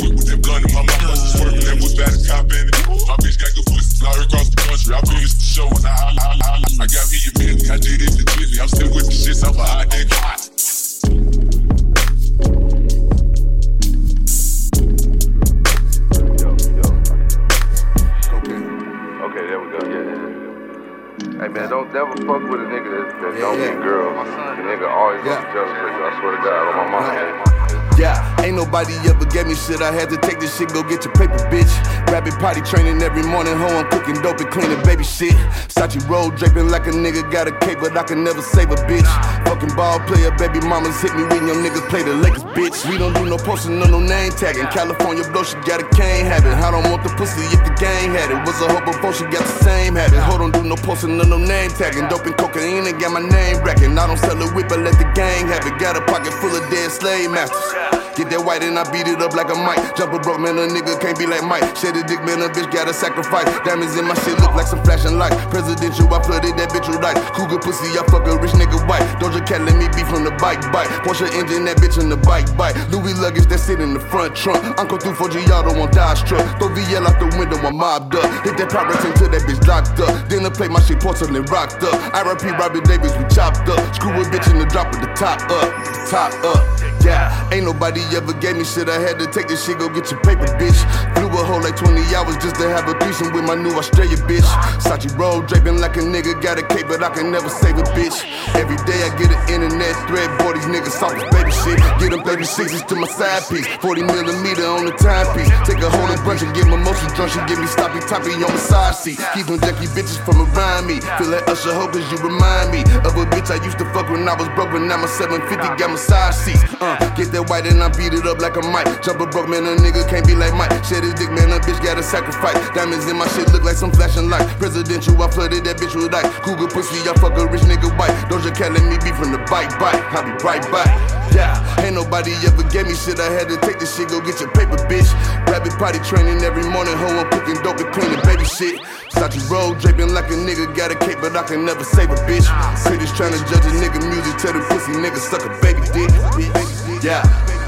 R: Hey man, don't never fuck with a nigga that, that yeah, don't yeah. get girls. The nigga always yeah. gonna jealous with you. I swear to God, on my mama.
E: Yeah, ain't nobody ever gave me shit. I had to take this shit, go get your paper, bitch. Rapid potty training every morning, ho, I'm cooking dope and cleaning baby shit. Sachi roll draping like a nigga got a cape, but I can never save a bitch. Fucking ball player, baby mamas hit me when your niggas play the Lakers, bitch. We don't do no posting, no, no name tagging. California blow, she got a cane habit. I don't want the pussy if the gang had it. Was a hoe before she got the same habit. Hold on, do no posting, no, no name tagging. Dope and cocaine and got my name racking. I don't sell a whip, I let the gang have it. Got a pocket full of dead slave masters. Get that white and I beat it up like a mic. Jump a broke man, a nigga can't be like Mike. Shed a dick man, a bitch gotta sacrifice. Diamonds in my shit look like some flashing light. Presidential, I flooded that bitch with light. Cougar pussy, I fuck a rich nigga white. Doja Cat let me be from the bike bite. Porsche engine, that bitch in the bike bite. Louis luggage that sit in the front trunk. Uncle through four Giotto on Dodge truck. Throw V L out the window, I'm mobbed up. Hit that pirates until that bitch locked up. Then I play my shit porcelain rocked up. R I P Robbie Davis, we chopped up. Screw a bitch in the drop with the top up. Top up. Yeah, ain't nobody ever gave me shit. I had to take this shit, go get your paper, bitch. Flew a whole like twenty hours just to have a threesome with my new Australia bitch. Sachi roll draping like a nigga got a cape, but I can never save a bitch. Every day I get an internet thread, boy, these niggas soft as baby shit. Get them thirty-sixes to my side piece, forty millimeter on the timepiece. Take a whole brunch and get my motion drunk. She give me sloppy toppy on my side seat. Keep them junkie bitches from around me. Feel like Usher Ho cause you remind me of a bitch I used to fuck when I was broke, but now my seven fifty got massage seats. Uh, get that white and I beat it up like a mic. Jump a broke man, a nigga can't be like Mike. Shed his dick man, a bitch gotta sacrifice. Diamonds in my shit look like some flashing light. Presidential, I flooded that bitch with ice. Cougar pussy, I fuck a rich nigga white. Doja Cat let me be from the bike bite. I be right back. Yeah, ain't nobody ever gave me shit. I had to take this shit, go get your paper, bitch. Rabbit potty training every morning, ho, I'm cooking dope and cleaning baby shit. Sachi roll draping like a nigga got a cape, but I can never save a bitch. City's trying to judge a nigga music, tell the pussy nigga suck a baby dick. Yeah,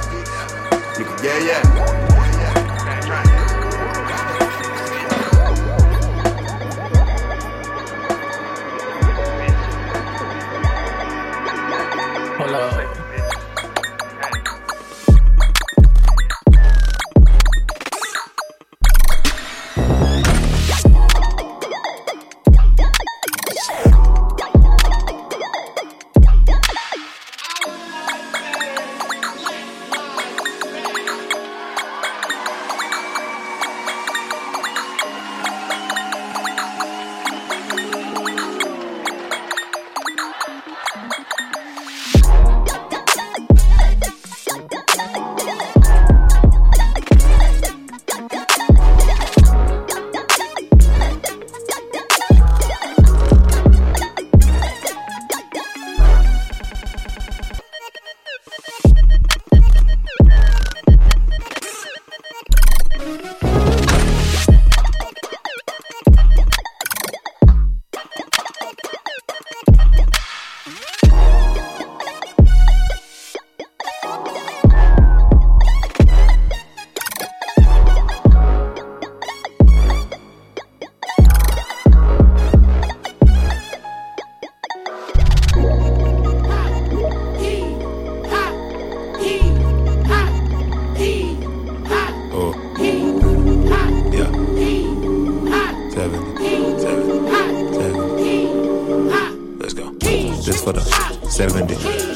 E: yeah, yeah.
C: Hold up.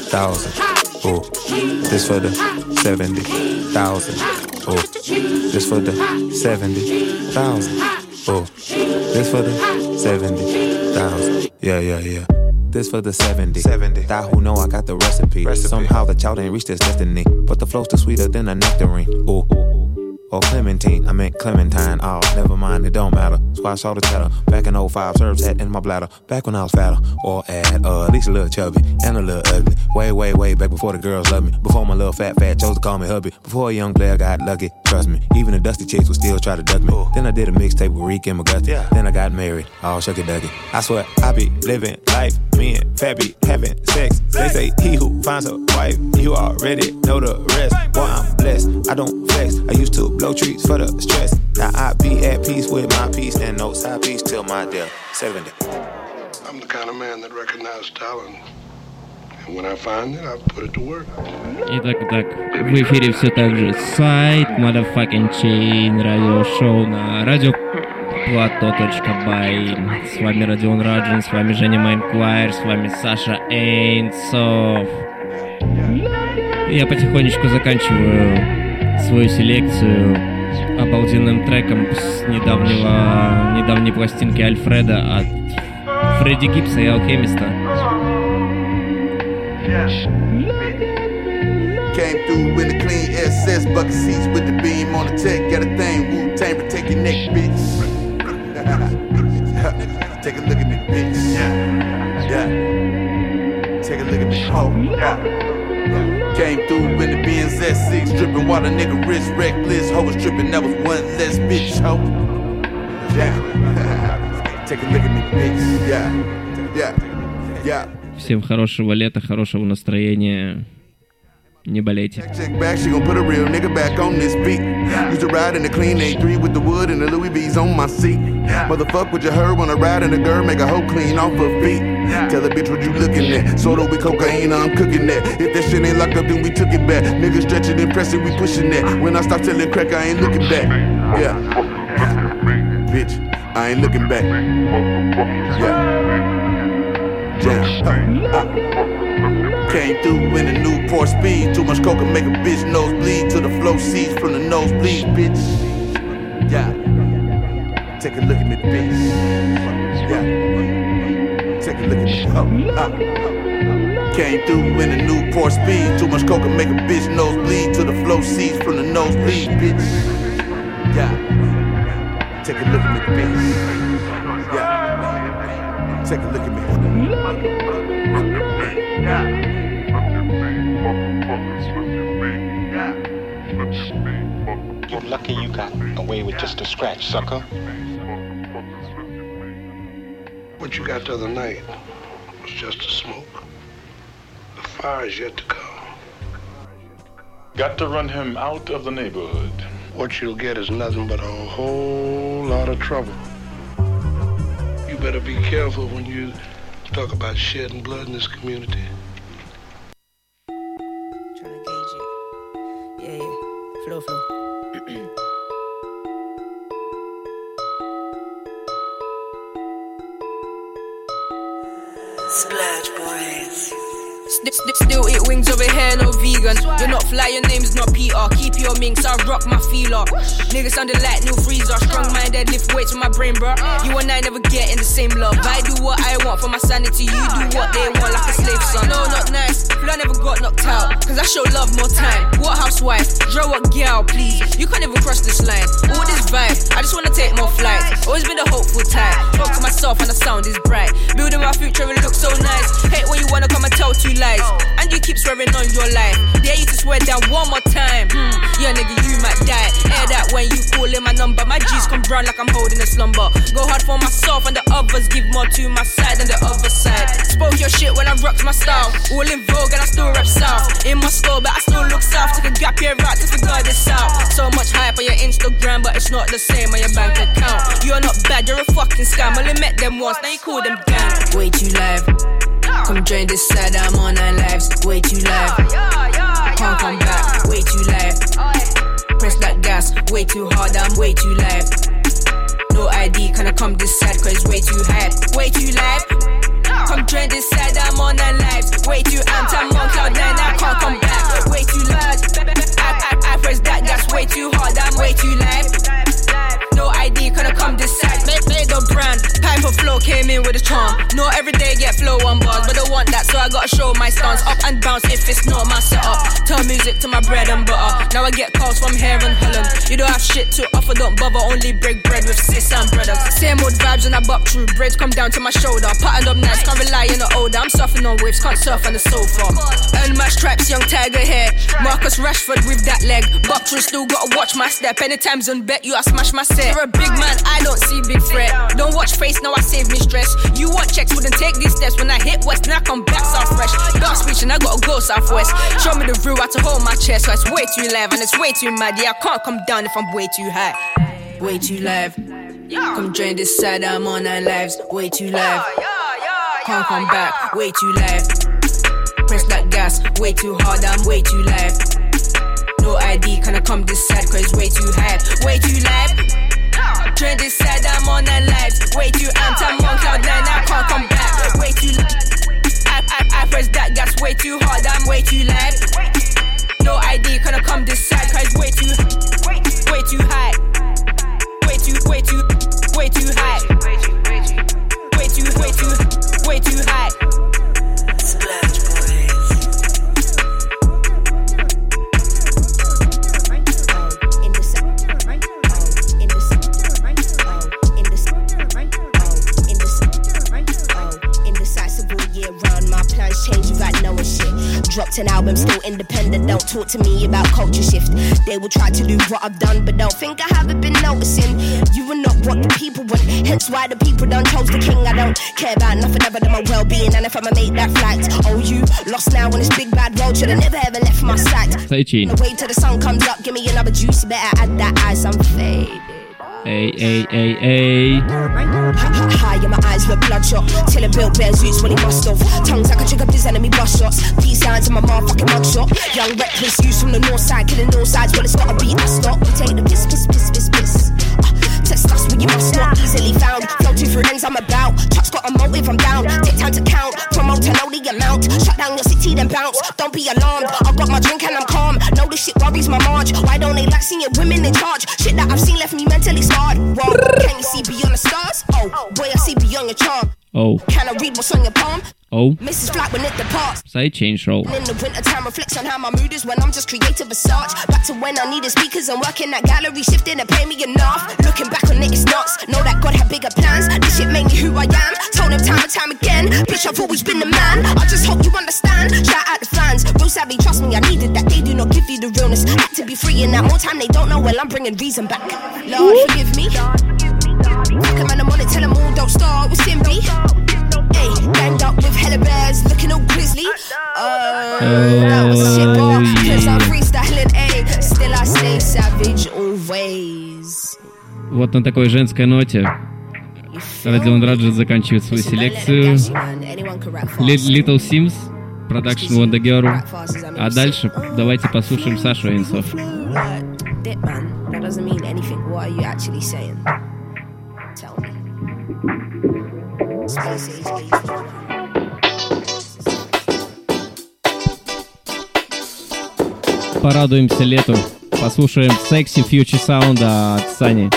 P: thousand. Oh, this for the seventy thousand. Oh, this for the seventy thousand. Oh, this for the seventy thousand. Yeah, yeah, yeah. This for the seventy. seventy. Thou who know I got the recipe. recipe. Somehow the child ain't reached its destiny, but the flow's still sweeter than a nectarine. Ooh. Or Clementine, I meant Clementine. Oh, never mind, it don't matter. Squash all the cheddar. Back in oh five, serves had in my bladder. Back when I was fatter, or at uh, at least a little chubby and a little ugly. Way, way, way back before the girls loved me. Before my little fat fat chose to call me hubby. Before a young player got lucky, trust me. Even the dusty chicks would still try to duck me. Ooh. Then I did a mixtape with Reek and McGusty. Yeah. Then I got married, all shucky ducky. I swear I be living life, me and Fat be having sex. They say he who finds a wife, you already know the rest. Boy, I'm blessed, I don't flex. I used to blow trees for the stress. Now I be at peace with my peace and no side peace till my death. seventy.
S: I'm the kind of man that recognizes talent. And when I find it, I put it to work.
C: Итак, так, в эфире все так же сайт Motherfucking Chain, радиошоу на радио плато точка бай. С вами Родион Раджин, с вами Женя Майнквайр, с вами Саша Эйнсов. Я потихонечку заканчиваю свою селекцию обалденным треком с недавнего, недавней пластинки Альфреда от Фредди Гибса и Алхемиста.
E: Came through in the clean S S bucket seats with the beam on the tech. Got a thing, Wu-Tang, protect your neck, bitch. Take a look at me, bitch. Yeah. Take a look at me, ho. Yeah. Came through in the Benz S six, dripping while the nigga wrist reckless. Ho was tripping, that was one less bitch, ho. Yeah. Take a look at me, bitch. Yeah. Yeah. Yeah.
C: Всем хорошего лета, хорошего настроения. Не болейте.
E: Check back, she gon' put a real nigga back on this beat. Used to ride in the clean A three with the wood and the Louis V's on my seat. Motherfuck what you heard when I ride in the girl, make a hoe clean off her feet. Tell a bitch what you looking at. Soda with cocaine, I'm cooking that. If that shit ain't locked up, then we took it back. Niggas stretch it and press it, we pushing that. When I stop selling crack, I ain't looking back. Yeah. Bitch, I ain't looking back. Yeah. Jam. Uh, uh. Came through in a Newport speed. Too much coke can make a bitch nose bleed. To the flow seats from the nosebleed, bitch. Yeah. Take a look at me, bitch. Yeah. Take a look at me. Oh, uh. Came through in a Newport speed. Too much coke can make a bitch nose bleed. To the flow seats from the nosebleed, bitch. Yeah. Take a look at me, bitch. Yeah. Take a look at me. Yeah.
T: You're lucky you got away with just a scratch, sucker.
S: What you got the other night was just a smoke. The fire is yet to come.
Q: Got to run him out of the neighborhood.
S: What you'll get is nothing but a whole lot of trouble. You better be careful when you talk about shedding blood in this community.
U: Trying to gauge it. Yeah, yeah. Flow, flow.
B: Splash Boys.
U: St- st- still eat wings over here, no vegan. You're not fly, your name's not Peter. Keep your minks, I rock my feeler. Niggas sounded like new freezer. Strong minded, lift weights with my brain, bro. You and I never get in the same love. I do what I want for my sanity. You do what they want like a slave son. No, not nice. Flow never got knocked out. Cause I show love more time. What housewife? Draw a girl, please. You can't even cross this line. All this vibe, I just wanna take more flights. Always been a hopeful type. Spoke to myself and the sound is bright. Building my future, it looks so nice. Hate when you wanna come and tell two lies. And you keep swearing on your life. Dare you to swear down one more time. Hmm, yeah nigga, you might die. Air that when you call in my number. My G's come brown like I'm holding a slumber. Go hard for myself and the others. Give more to my side than the other side. Spoke your shit when I rocked my style. All in vogue and I still rap south. In my skull but I still look south. Took a gap year out to figure this out. So much hype on your Instagram but it's not the same on your bank account. You're not bad, you're a fucking scam. Only met them once, now you call them gang. Way too live. Come join this side, I'm on nine lives. Way too live. Can't come back, way too live. Press that gas, way too hard, I'm way too live. No I D, can I come this side, cause way too high. Way too live. Come join this side, I'm on nine lives. Way too amped, I'm on cloud gotta show my stance. Up and bounce if it's not my setup. Turn music to my bread and butter. Now I get calls from here and Holland. You don't have shit to offer, don't bother. Only break bread with sis and brothers. Same old vibes and I buck through. Braids come down to my shoulder. Patterned up nice, can't rely on the older. I'm surfing on waves, can't surf on the sofa. Earn my stripes, young tiger hair. Marcus Rashford with that leg. Buck through, still gotta watch my step. Anytime's on bet you I smash my set. You're a big man, I don't see big threat. Don't watch face, now I save me stress. You want checks, wouldn't take these steps. When I hit west, now I come back south fresh. Dark speech and I gotta go southwest. Show me the view, I to hold my chest. So it's way too live and it's way too mad. Yeah, I can't come down if I'm way too high. Way too live. Come join this side, I'm on nine lives. Way too live. Can't come back, way too live. Press that gas, way too hard, I'm way too live. No I D, can I come this side, cause it's way too high. Way too live. Join this side, I'm on nine lives. Way too amped, I'm on cloud nine, I can't come back. Way too live. I, I, I press that gas, way too hard, I'm way too live. No I D, can I come this side, cause it's way too, way too high. Way too, way too, way too high. Way too, way too, way too high. Splash
F: change without knowing shit. Dropped an album, still independent. Don't talk to me about culture shift. They will try to do what I've done, but don't think I haven't been noticing. You are not what the people want, hence why the people done chose the king. I don't care about nothing other than my well-being, and if I'ma make that flight, oh you lost now on this big bad road, should've never ever left my sight.
C: Sidechain.
F: Wait till the sun comes up, give me another juice, you better add that ice, I'm faded.
C: Ey, ey, ey, ey.
F: High in my eyes were bloodshot. Till it built bear zoots when he must have. Tongues like a trigger his enemy bust shots. Peace signs in my motherfucking mugshot. Young reckless youth from the north side, killing all sides. Well, it's gotta be us stop. We take the piss, piss, piss, piss, piss. Uh, test us when you must not easily found. Floating through ends I'm about. Touch got a motive, I'm down. Take time to count. Promote to know the amount. Shut down your city, then bounce. Don't be alarmed. I got my drink and I'm calm. Know this shit worries my march. Why don't they like seeing women in charge? Shit that I've seen left me mentally scarred. Whoa, can you see beyond the stars? Oh, boy, I see beyond your charm.
C: Oh.
F: Can I read what's on your palm?
C: Oh.
F: Missus Flat when it departs.
C: Sidechain show.
F: In the winter time reflects on how my mood is when I'm just creative as such. Back to when I needed speakers and working that gallery, shifting and pay me enough. Looking back on it, it's nuts. Know that God had bigger plans. This shit made me who I am. Told him time and time again, bitch, I've always been the man. I just hope you understand. Shout out the fans. Real savvy, trust me, I needed that. They do not give you the realness. Had to be free in that more time they don't know. Well, I'm bringing reason back. Lord, forgive me. Fuck 'em and I'm on it, tell 'em all don't start with Simbi. Hey, ganged up with hella bears, looking all grizzly. Uh, that was a shit bar, cause I'm freestyling, ayy. Still I stay savage always.
C: Вот на такой женской ноте Родион Раджа заканчивает свою селекцию. Little Sims, Production Wonder Girl. А дальше давайте послушаем Сашу Айнсоф.
F: That doesn't mean anything. What are you actually saying? Tell me. Space age,
C: Порадуемся лету. Послушаем Sexy Future Sound от Сани.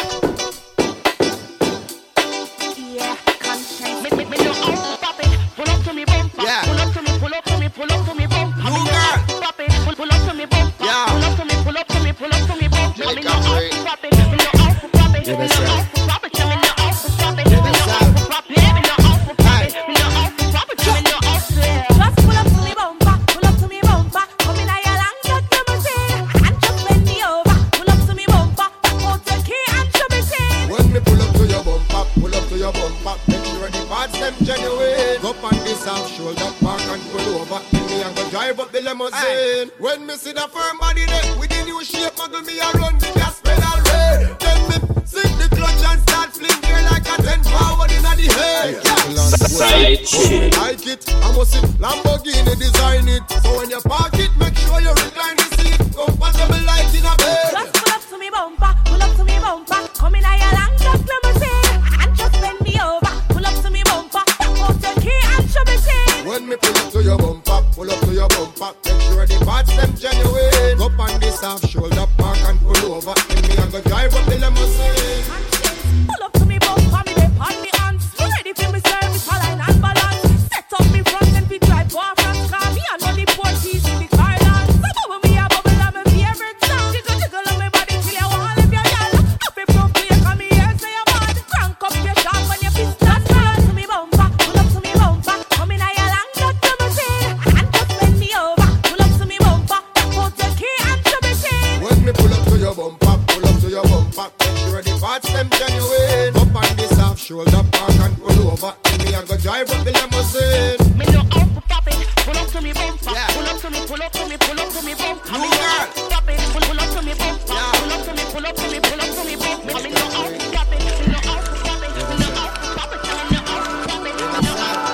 O: When me see the firm body there, with the new shape, muggle me a run the gas pedal red. Then me sink the clutch and start fling here like a ten forward in the head. Yeah. Like it, I must see Lamborghini design it. So when you park it, make sure you recline the seat. Comfortable like in a bed.
V: Just pull up to me bumper, pull up to me bumper. Come in a long just limousine and just bend me over. Pull up to me bumper, put your key and show me thing.
O: When me pull up to your bumper, pull up to your bumper. Make sure the parts them genuine. Up on this half shoulder, park and pull over. And me and go drive up the limousine.
V: Pull up to me bumper, me dey on me hands. Ready for me service, all line and balance. Set up me front and we drive off from
A: watch them genuine. Up on this half shoulder park and pull over. And me I go drive up the limousine. Me know how to pop it. Pull up to me bumper. Yeah. Pull up to me, pull up to me, pull up to me bumper. Me know how to pop it. Pull, pull up to me bumper. Yeah. Pull up to me, pull up to me, pull up to me bumper. Me know how to pop it. Me know how to pop it. Me know how to pop it. Me know how to pop it. Me know how to pop it. Me know how to pop it.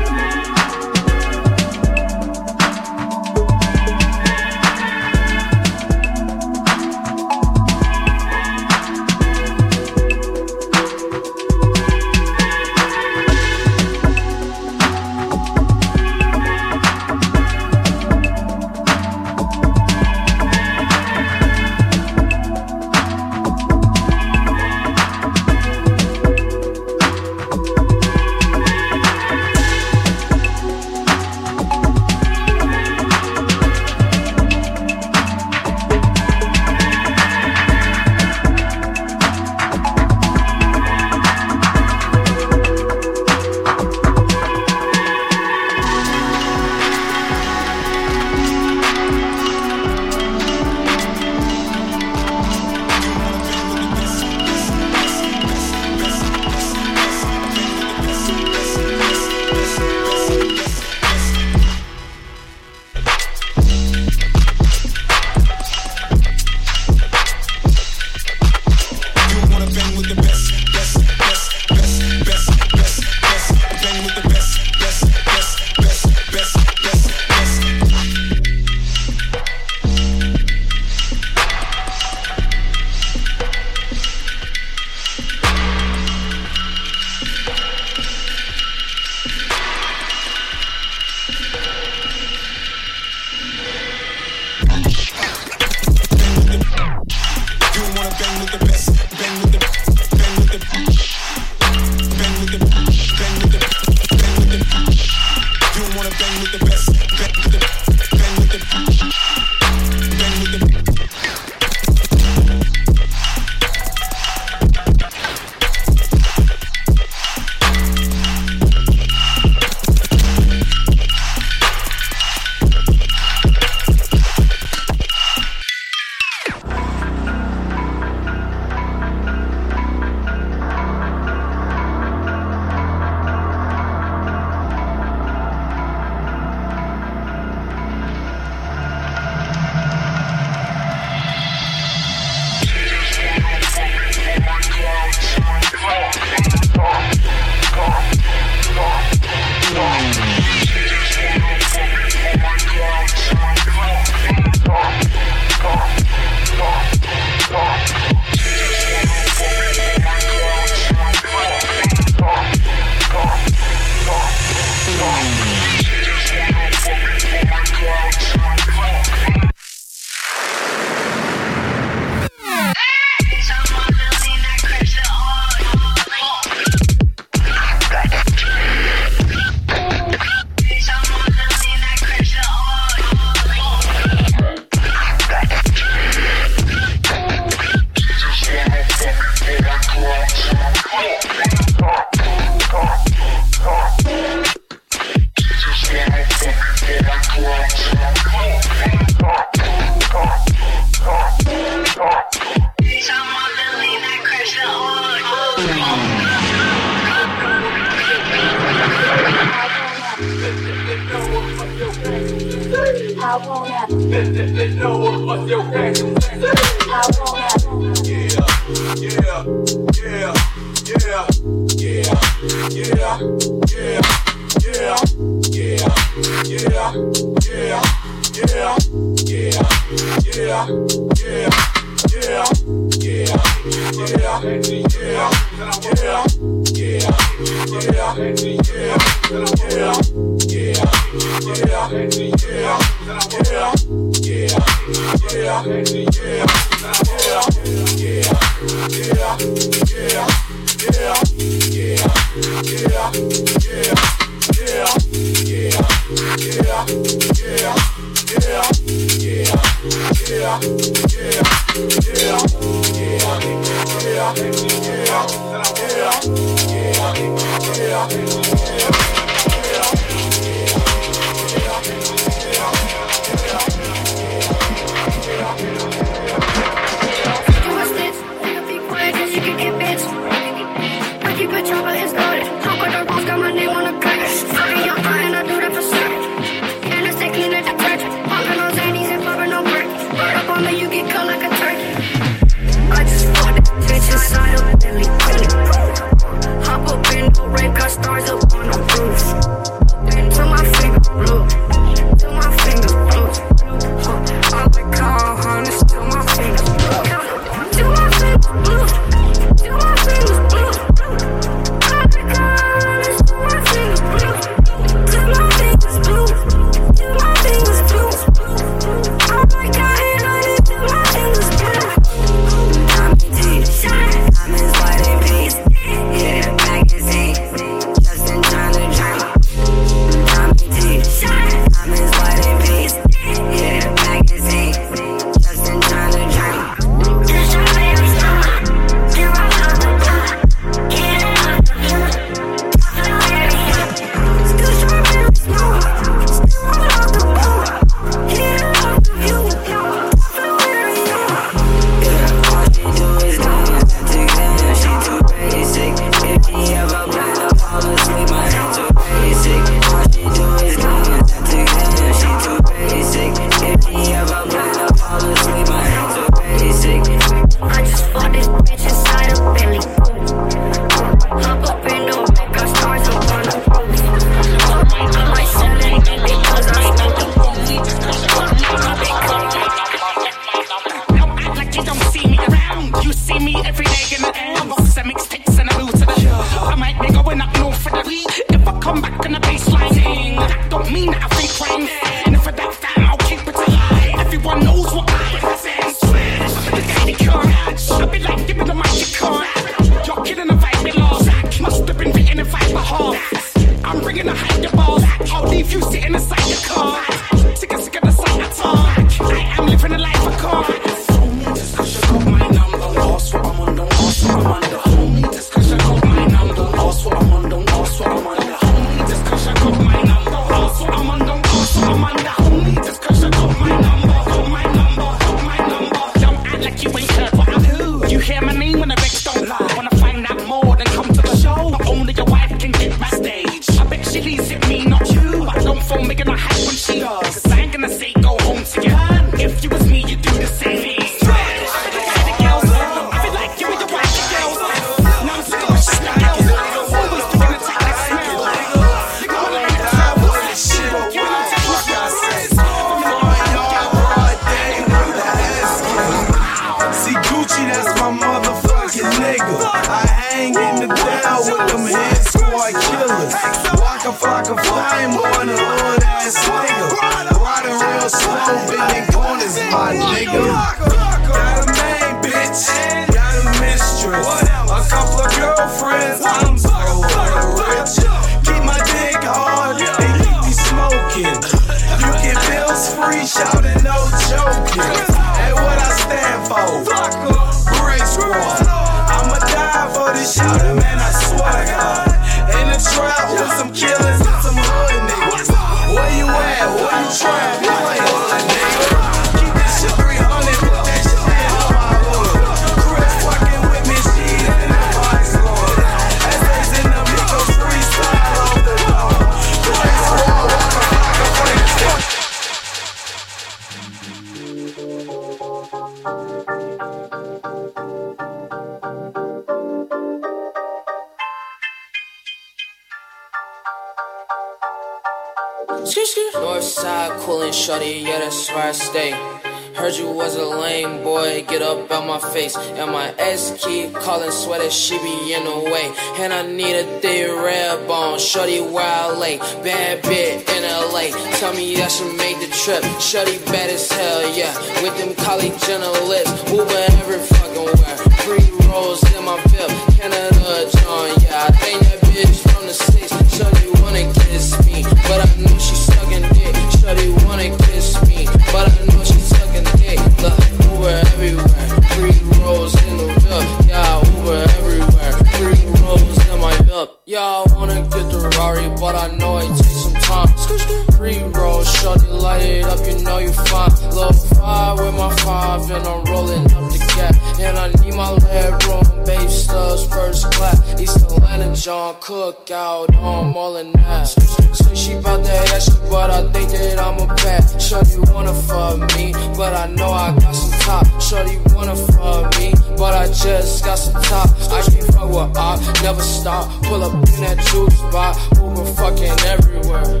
B: Northside coolin' shorty, yeah, that's where I stay. Heard you was a lame boy, get up out my face. And my ex keep calling, swear that she be in the way. And I need a thick red bone, shorty where I lay. Bad bit in L A, tell me I should make the trip. Shorty bad as hell, yeah, with them Kylie Jenner lips. Uber every fucking where, free rolls in my VIP. Canada John, yeah, I think that bitch from the States. Shorty wanna kiss me, but I know she sucking dick. Shorty wanna kiss me, but I know she sucking dick. Look, Uber everywhere, free rolls in the VIP. Yeah, Uber everywhere, free rolls in my VIP. Yeah, I wanna get the Rari, but I know it takes some time. Free rolls, shorty light it up, you know you fine. Low five with my five, and I'm rolling up the gap. And I need my leg room, babe stubs, first class. East Atlanta, John Cook out on all in that. So she bout that extra, but I think that I'm a bad. Shorty wanna fuck me, but I know I got some top. Shorty wanna fuck me, but I just got some top. I can't fuck with op, never stop. Pull up in that juice spot, Uber fucking everywhere.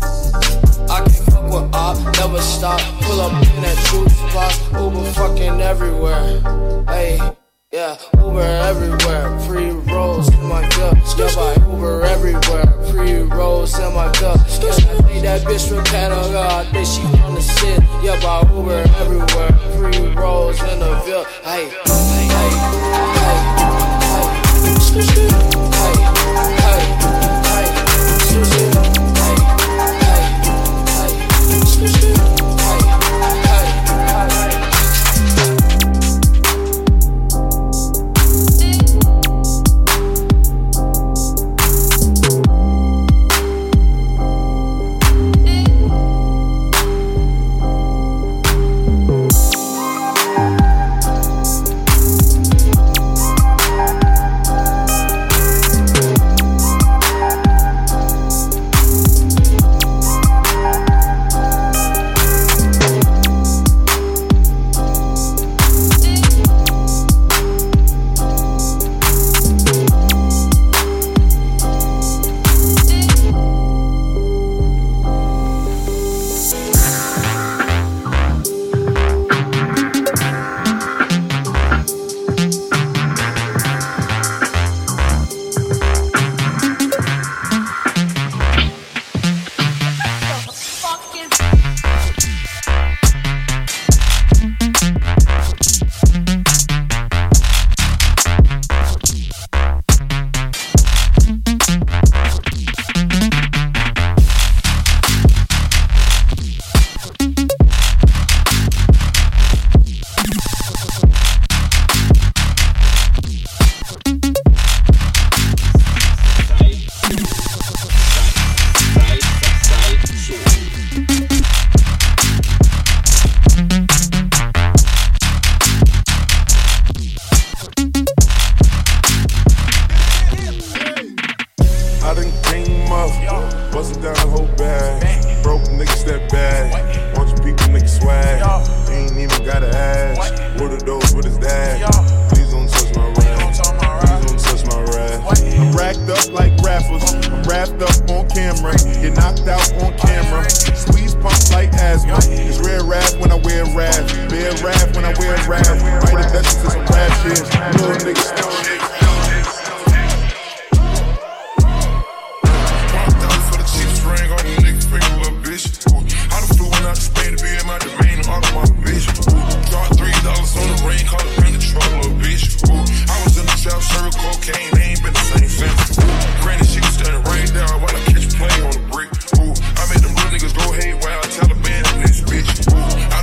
B: I can't fuck with op, never stop. Pull up in that juice spot, Uber fucking everywhere. Hey. Yeah, Uber everywhere, free rolls in my cup. Yeah, by Uber everywhere, free rolls in my cup. Yeah, I think that bitch from Canada, I think she from the city. Yeah, by Uber everywhere, free rolls in the Ville. Hey, hey, hey, hey, hey, hey, hey, hey, hey.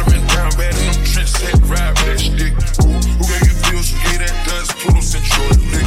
O: That stick. Ooh, who gave you pills? Who gave that dust? Pluto sent you a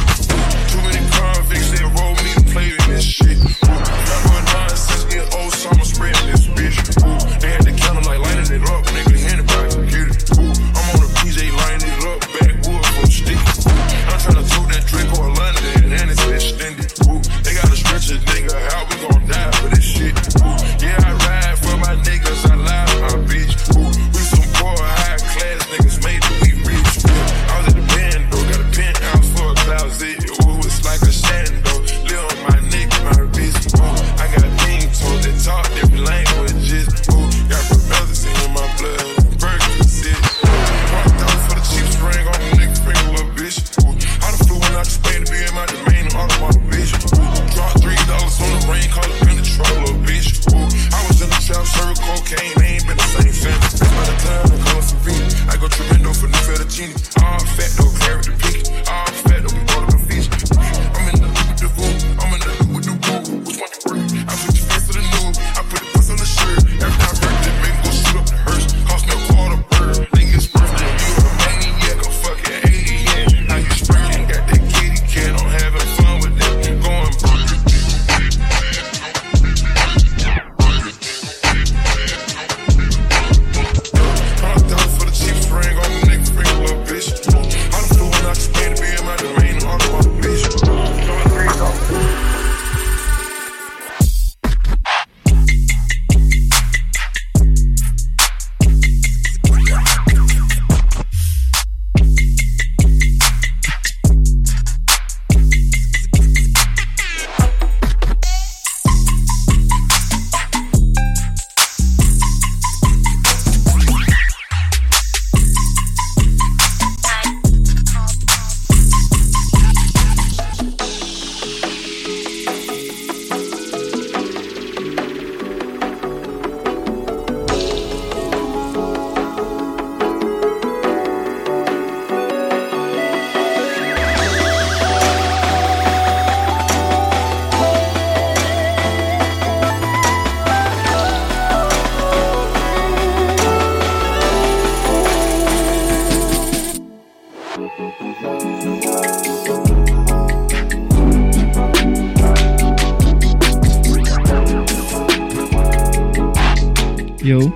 C: Йоу.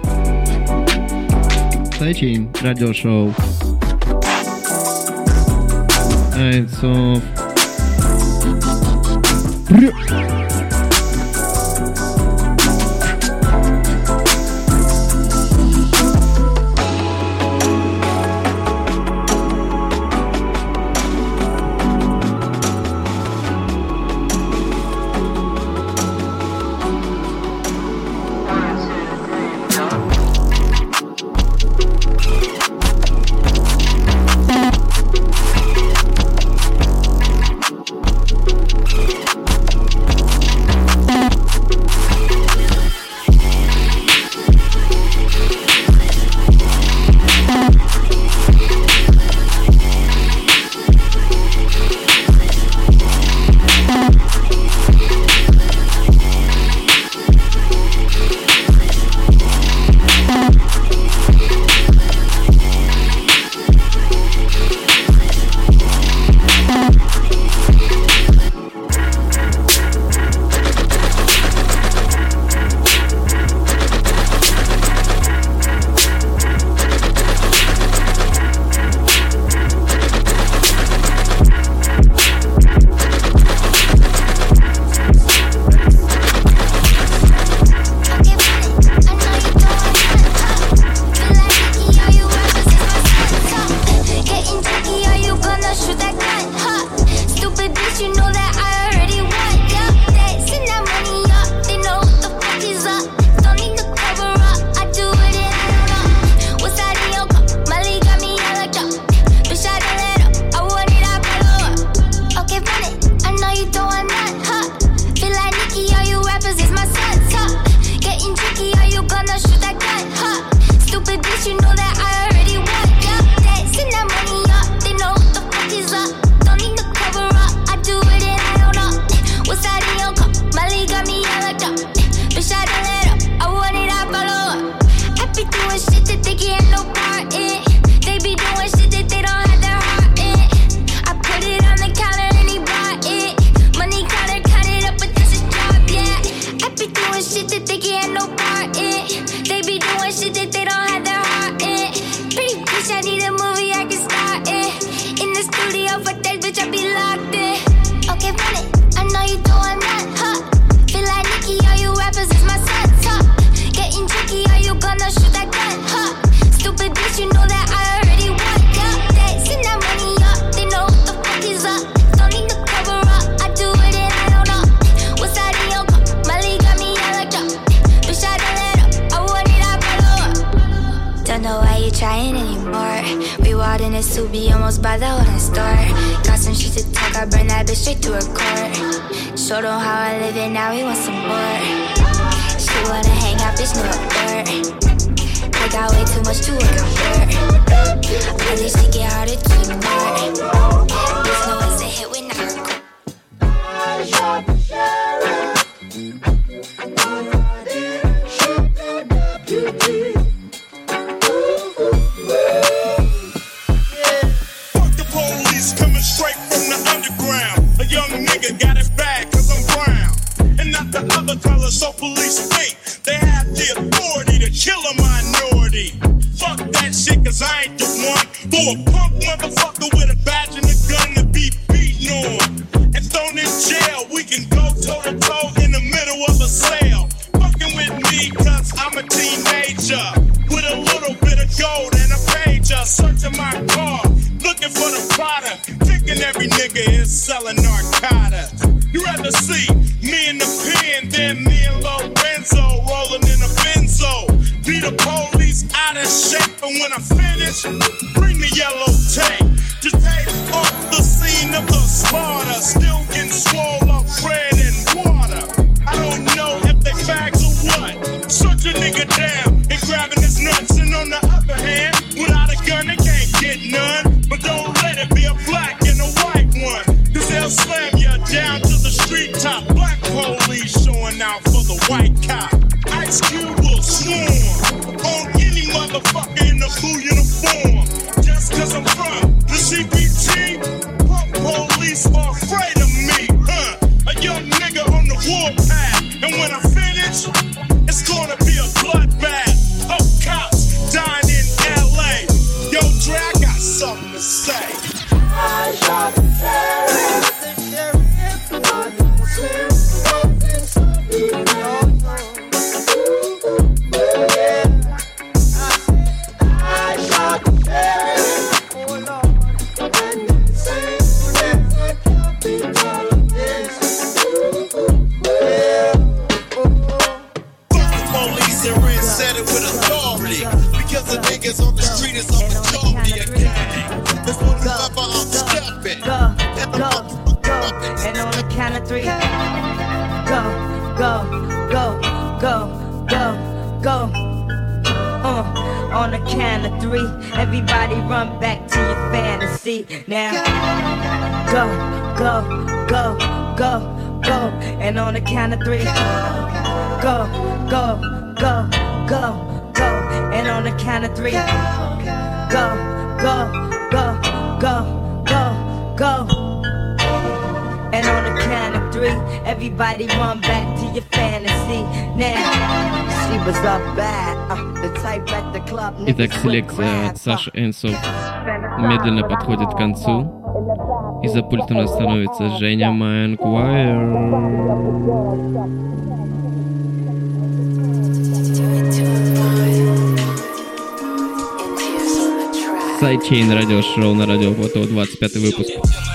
C: Сайчейн, радиошоу. Айнцов.
O: C B T, police are afraid of me, huh?
V: And on the count of three, go, go, go, go. And on the count of three, go, go, go, go, go, go. Uh, on the count of three, everybody run back to your fantasy. Now, go, go, go, go, go. And on the count of three, go, go, go, go, go. And on the count of three, go, go, go, go, go, go. And on the count of three, everybody run back to your fantasy. Now, she was up bad, uh, the type at the club.
C: Итак, селекция от Саши Энсов медленно подходит к концу. И за пультом у нас становится Женя Майнквайр. Сайдчейн радиошоу на радио Фото, двадцать пятый выпуск.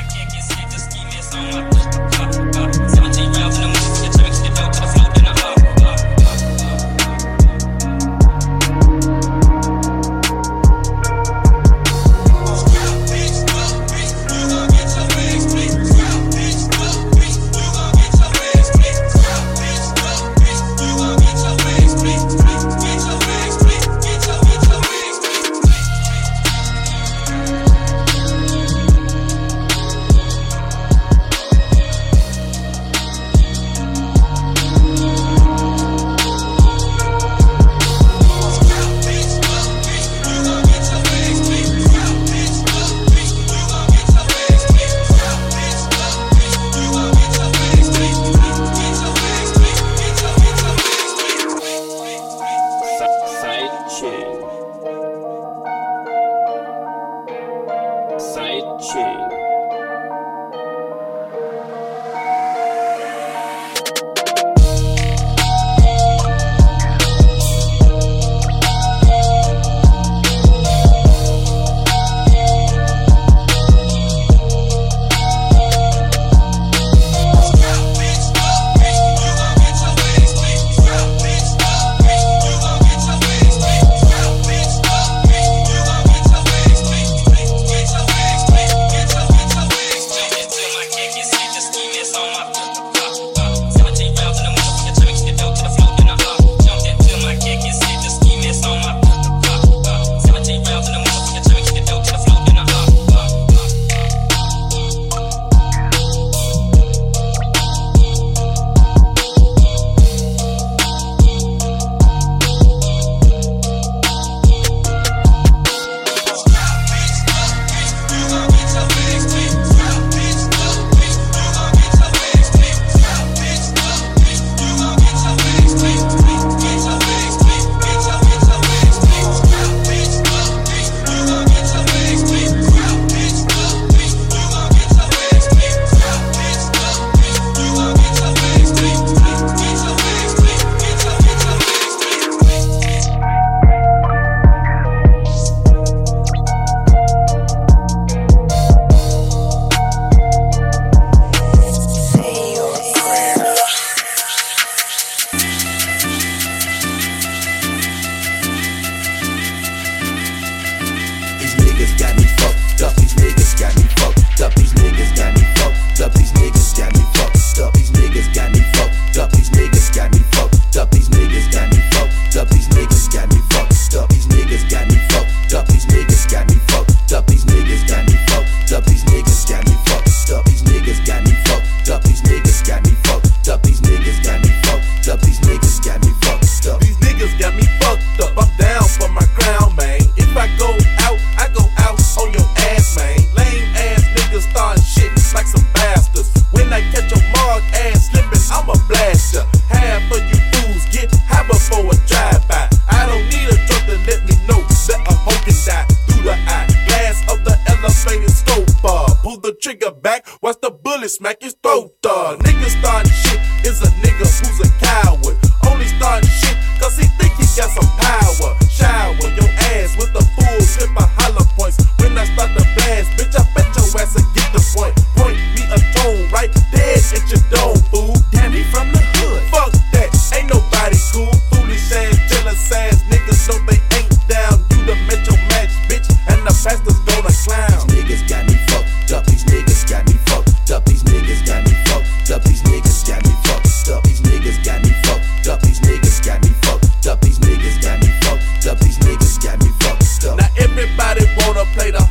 D: Smack his throat, dog. Nigga starting shit is a nigga who's a coward. Only starting shit cause he think he got some power. Shower your ass with a full clip of hollow points. When I start to blast, bitch, I bet your ass will get the point. Point me a tone right dead at your dome, fool. Damn, he from the hood. Fuck that, ain't nobody cool. Foolish ass, jealous ass niggas know they ain't down. You the metro match, bitch.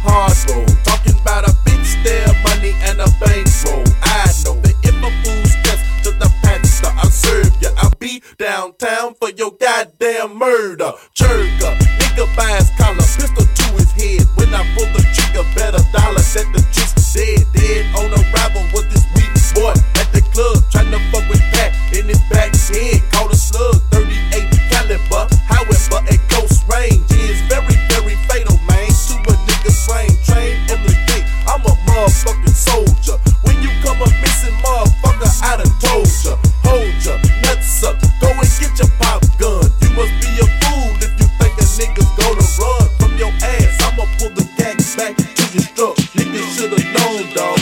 D: hard road. Talking about a big stare, money and a bankroll. I know that if a fool steps to the pastor, I'll serve ya. I'll be downtown for your goddamn murder. Churga, nigga by his collar, pistol to his head. When I pull the trigger, bet a dollar that the chick's dead. Dead on arrival with this weak boy at the club, trying to fuck with Pat in his back head. Caught a slug, thirty-eight caliber. However, at close range is very, very fatal, man. To a nigga's brain, trained in the gate. I'm a motherfucking soldier. When you come a missing motherfucker, I done told ya. Hold ya, nuts up, go and get your pop gun. You must be a fool if you think a nigga's gonna run from your ass. I'ma pull the gat back to your struck. Niggas should've known, dawg.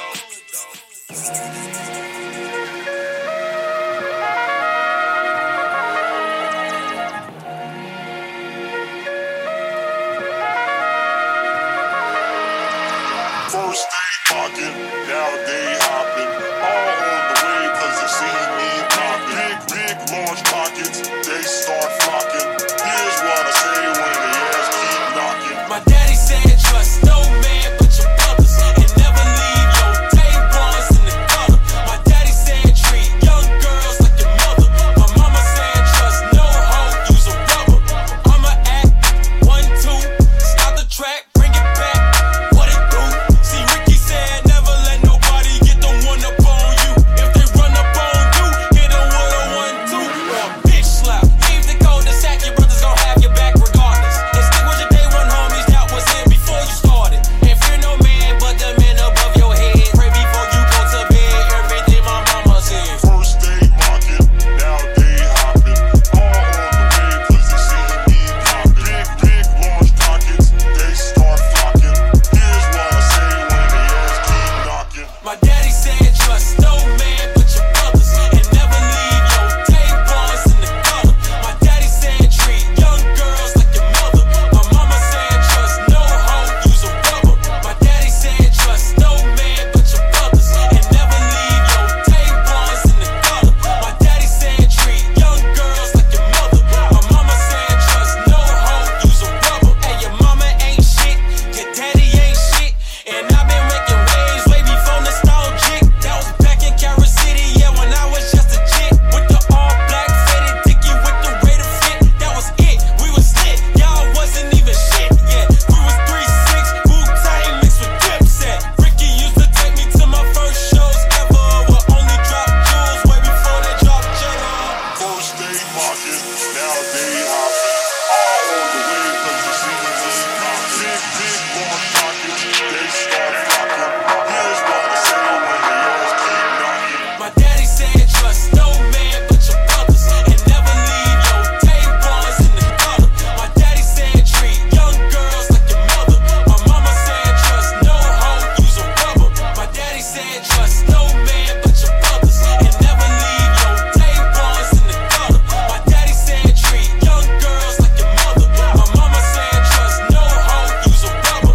Q: First they talking, now they hopping. All on the way cause they see me popping. Big, big, large pockets, they start flocking. Here's what I say when the ass keep knocking.
B: My daddy said trust no man but your brothers, and never leave your day ones in the gutter. My daddy said treat young girls like your mother. My mama said trust no hoe, use a rubber. I'ma act one, two, stop the track, bring it back. What it do? See Ricky said never let nobody get the one up on you. If they run up on you, hit them with a one, two, or a bitch slap. Leave the cul-de-sac, your brothers gon' have your back regardless. And stick with your day one homies, that was in before you started. And fear no man but the men above your head. Pray before you go to bed, everything my mama said.
Q: First they mocking, now they hopping. All on the way cause they see me popping. Big, big, large pockets, they start flocking. Here's what I say when the ass keep knocking.
B: My daddy said trust no man but your brothers, and never leave your day ones in the gutter. My daddy said treat young girls like your mother. My mama said trust no hoe, use a rubber. My daddy said trust no man but your brothers, and never leave your day ones in the gutter. My daddy said treat young girls like your mother. My mama said trust no hoe, use a rubber. Hey, your mama ain't shit, your daddy ain't shit, and I've been making waves way before nostalgic. That was back in Carol City, yeah, when I was just a chick. With the all black faded dicky with the Raider fit, that was it, we was lit, y'all wasn't even shit, yeah. We was three six, Wu-Tang mixed with Dipset. Ricky used to take me to my first shows ever, would only drop jewels way before they drop cheddar.
Q: First they mocking, now they hopping. All on the way cause they see me popping. Big, big, large pockets, they start flocking. Here's what I say when the ass keep knocking.
B: My daddy said trust no man but your brothers, and never leave your day ones in the gutter. My daddy said treat young girls like your mother. My mama said trust no hoe, use a rubber. My daddy said trust no man but your brothers, and never leave your day ones in the gutter. My daddy said treat young girls like your mother. My mama said trust no hoe, use a rubber.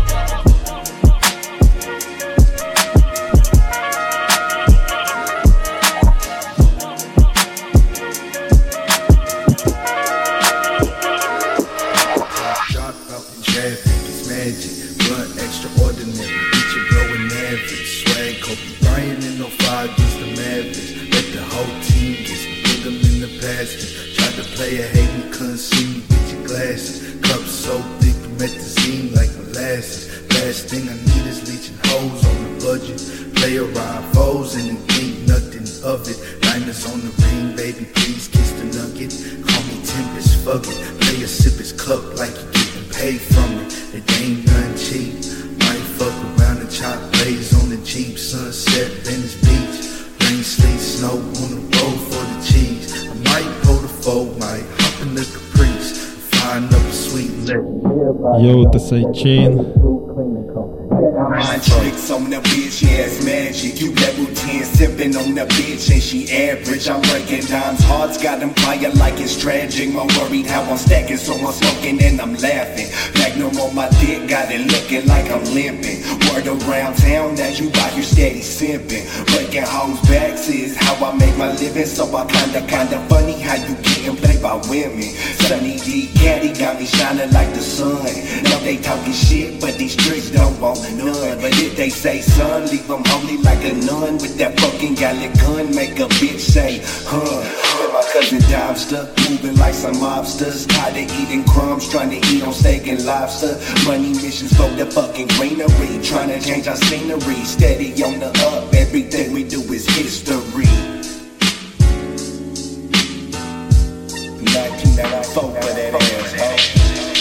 G: Drop out in traffic, it's magic, blood extraordinary, get you blowing average. Swag, Kobe Bryant in no five against the Mavericks. Let the whole team get some, put them in the basket. Tried to play a hate, we couldn't see me with your glasses. Cups so thick, promethazine like molasses. Last thing I need is leeching hoes on the budget. Play around foes and think nothing of it. Diamonds on the ring, baby, please kiss the nugget. Call me Tempest, fuck it. Play a sip his cup like you getting paid from it. It ain't nothing cheap. Might fuck around and chop blaze on the Jeep. Sunset, Venice Beach. Rain, sleet, snow on the road for the cheese. I might pull the fold, might hop in the Caprice. Find up a sweet liquor.
H: Yo, это Сайчейн.
W: My tricks on the bitch, yeah, it's magic. You level ten, sipping on the bitch, and she average. I'm breaking dimes, hearts got them fire like it's tragic. I'm worried how I'm stacking, so I'm smoking and I'm laughing. Magnum on my dick, got it looking like I'm limping. Word around town that you out here steady simping. Breaking hoes' backs is how I make my living, so I kinda, kinda funny how you getting played about women. Sunny D Caddy got me shining like the sun. Know they talking shit, but these tricks don't want none. But if they say son, leave them holy like a nun. With that fucking galley gun, make a bitch say, huh. With my cousin Dobster, moving like some mobsters. Tired of eating crumbs, trying to eat on steak and lobster. Money missions for the fucking greenery. Trying to change our scenery. Steady on the up, everything we do is history. nineteen ninety-four, where that ass, huh?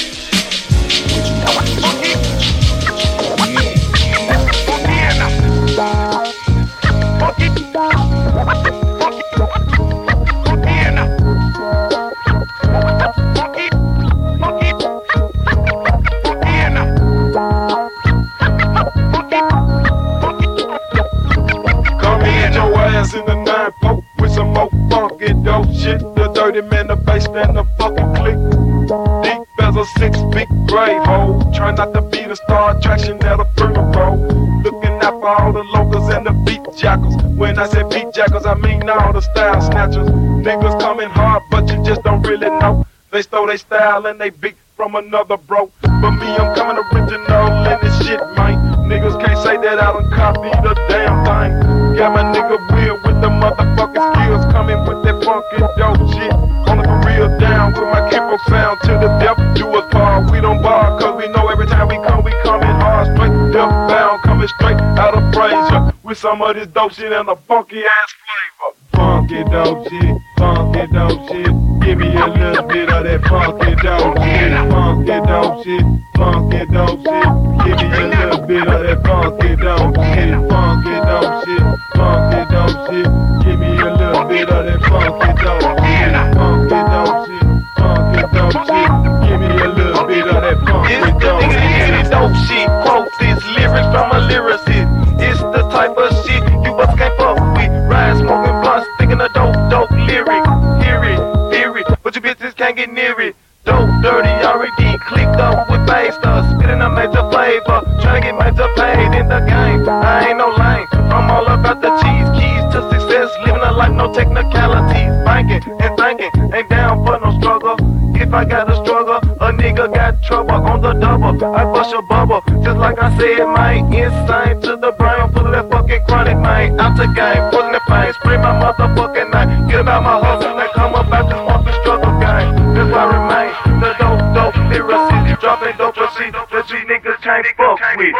Q: In the nine poke with some more funky dope shit. The dirty man, the bass, and the fucking click. Deep as a six feet grave hole. Try not to be the star attraction at a funeral. Looking out for all the locals and the beat jackals. When I say beat jackals, I mean all the style snatchers. Niggas coming hard, but you just don't really know. They stole their style and they beat from another bro. But me, I'm coming original in this shit, man. Niggas can't say that I done copied the damn thing. Got my nigga Will with the motherfucking skills, coming with that funky dope shit. On the real down with my Kimbo sound to the death. Do us par, we don't bar, cause we know every time we come, we coming hard, straight death bound, coming straight out of Frazier. With some of this dope shit and a funky ass flavor. Funky dope shit, funky dope shit. Give me a little bit of that funky dope shit, funky dope shit, funky dope shit. Give me a little bit of that funky dope shit, funky dope shit, funky dope shit. Give me a little bit of that funky dope shit, funky dope shit, funky dope shit. Give me a little bit of that funky dope shit. It's dope shit, quotes this lyrics from a lyricist. It's the type of shit you bust can't fuck with. Ride smoking blunts, thinking of dope, dope lyric. Hear it, hear it, but you bitches can't get near it. Dope, dirty, already clicked up with bass stuff. Spitting a major flavor, trying to get major paid in the game. I ain't no lame, I'm all about the cheese. Keys to success, living a life, no technicalities. Banking and thinking, ain't down for no struggle. If I got a struggle, a nigga got trouble on the double. I bust your bubble, just like I said, man. Insane to the brain, full of that fucking chronic, man. Out the game, full of the pain, spray my motherfucking name. Get about my hustle, and come about this fucking struggle game. That's why I remain the dope, dope lyricist. Dropping dope shit that you niggas can't fuck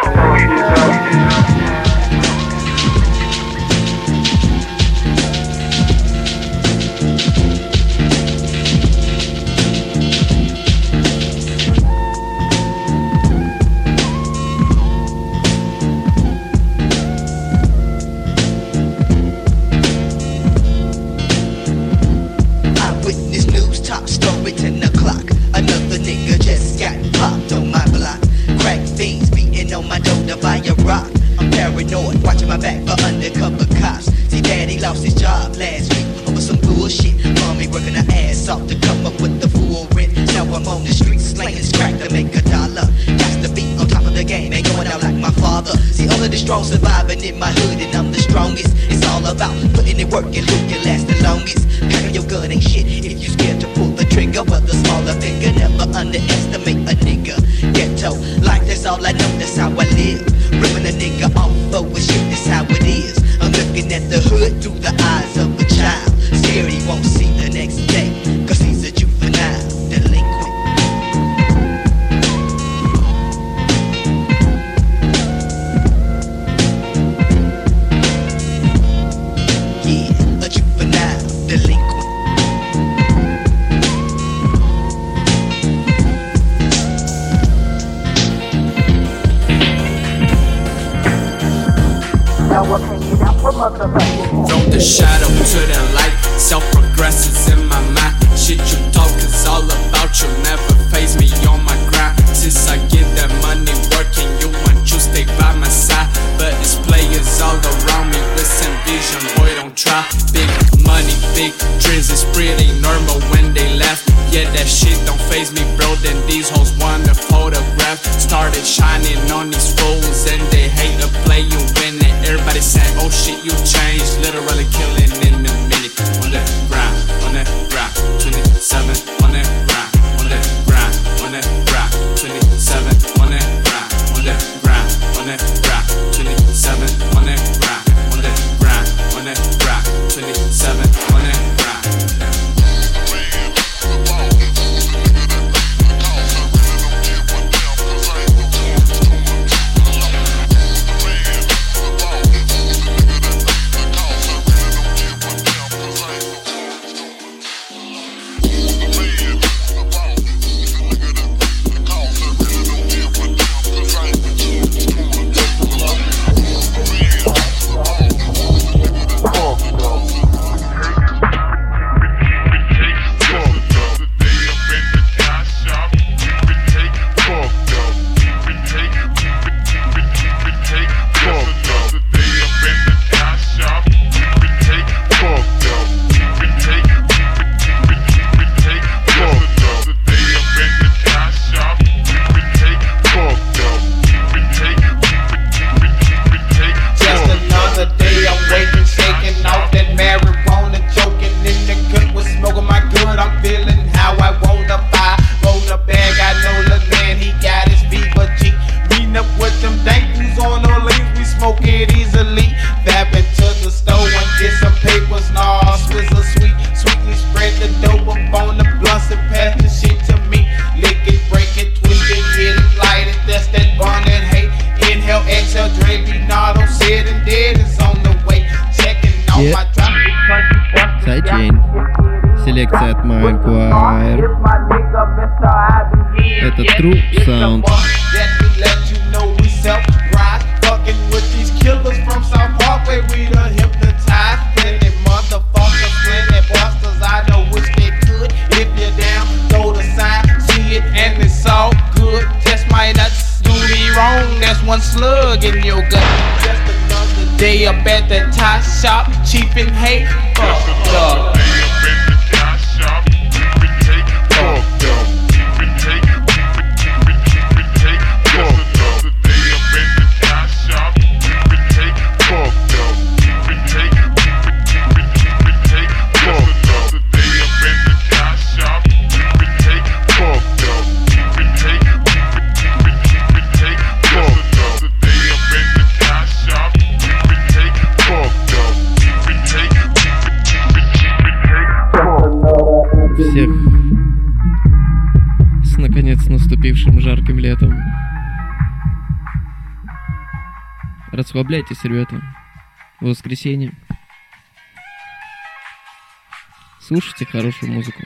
Q: with.
I: Story ten o'clock. Another nigga just got popped on my block. Crack fiends beating on my door to buy a rock. I'm paranoid, watching my back for undercover cops. See, daddy lost his job last week over some bullshit. Mommy working her ass off to come up with the full rent. Now I'm on the streets slinging crack to make a dollar. Got to be on top of the game, ain't going out like my father. See, only the strong surviving in my hood, and I'm the strongest. It's all about putting in work and who can last the longest. Packing your gun ain't shit if you scared to pull the trigger, but the smaller finger never underestimate a nigga. Ghetto life, that's all I know, that's how I live. Ripping a nigga off over shit, that's how it is. I'm looking at the hood through the eyes of a child. Scared he won't see the next day, cause he's a juvenile delinquent. Yeah, a juvenile delinquent.
K: From the shadow to the light, self-progresses in my mind. Shit you talk is all about you, never face me on my grind. Since I get that money working, you want you stay by my side. But it's players all around me with some vision, boy don't try. Big money, big dreams, it's pretty normal when they laugh. Yeah, that shit don't faze me, bro, then these hoes wanna photograph. Started shining on these fools and they hate to play you winning. Everybody saying, oh shit, you changed, literally killing in a minute. On the ground, on the ground, twenty twenty-seven on that grind, on that grind, on that grind. twenty-seven on that grind, on that grind, on that grind. twenty-seven on that grind, on that grind, on that grind. twenty-seven on that grind.
C: Селекция от Manquire. Это True Sound.
J: One slug in your gut. Just another day up at the top shop, cheap and hate, fucked up.
C: Всех с наконец наступившим жарким летом. Расслабляйтесь, ребята. В воскресенье. Слушайте хорошую музыку.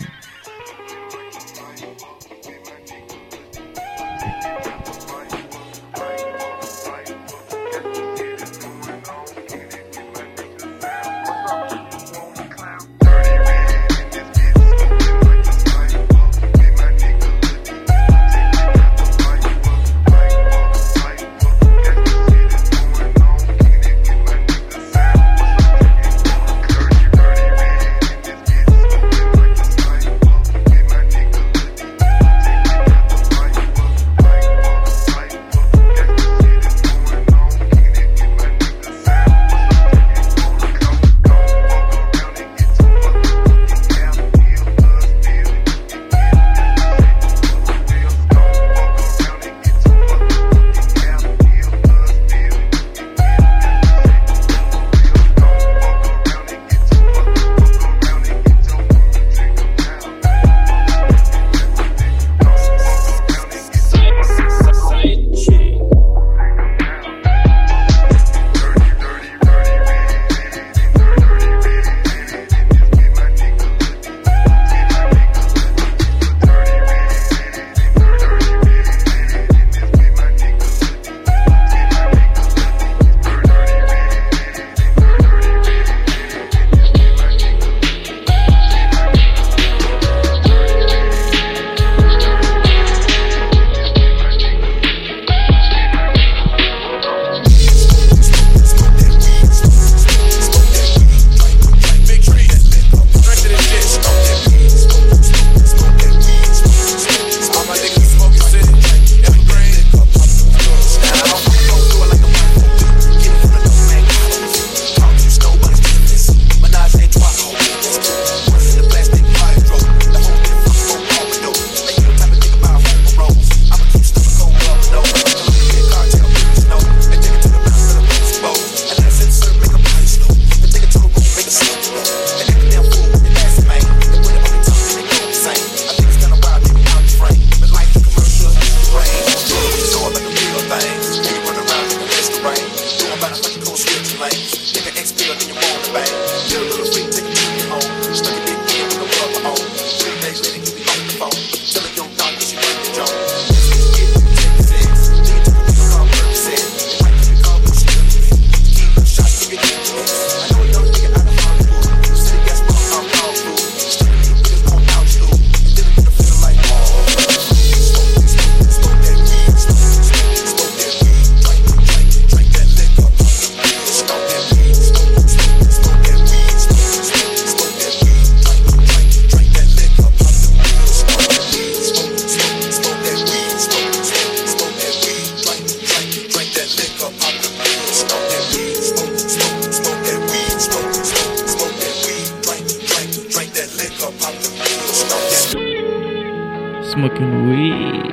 C: smoking weed.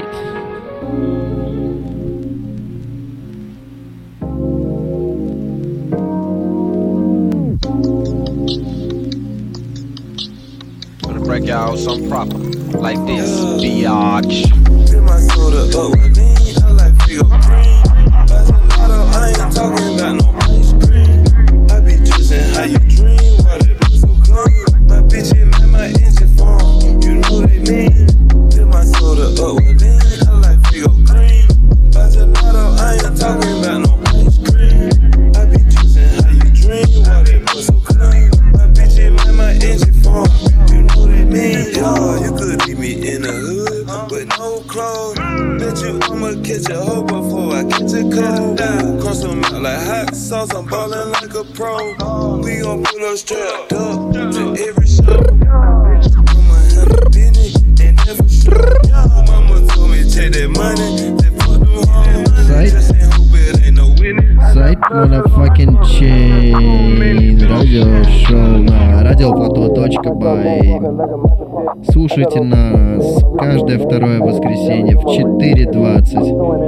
L: Break out some proper like this, biatch.
M: Fill my soda up with lean, I like feel green. Buy gelato, I ain't talking about no ice cream. I be choosing how you dream, why that be so clean. My bitches make my engine form, you know what they mean. Fill my soda up with lean, I like feel green. Buy gelato, I ain't talking about no ice cream. I be choosing how you dream, why that be so clean. My bitches make my engine form. Yo, you could leave me in the hood with no clothes. Bet you I'ma catch a hoe before I catch a cold. Cross them out like hot sauce, I'm ballin' like a pro. We gon' pull up strapped up to every show. I'ma handle business and never show. Mama told me take that money, they put them home. Just ain't hope it ain't no winning.
H: Сайт Motherfucking Chain. Радиошоу на радиоплато точка бай. Слушайте нас каждое второе воскресенье в четыре двадцать.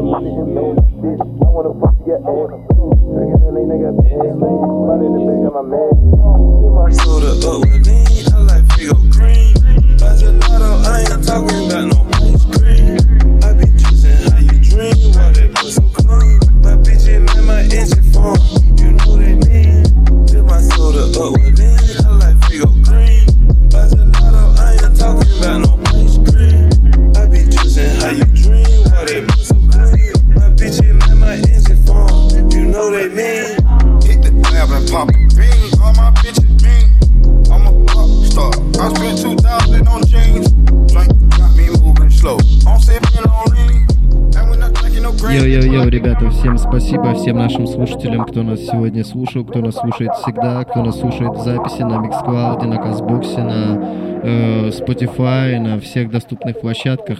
H: Йо-йо-йо, ребята, всем спасибо, всем нашим слушателям, кто нас сегодня слушал, кто нас слушает всегда, кто нас слушает в записи на Mixcloud, на Казбоксе, на э, Spotify, на всех доступных площадках.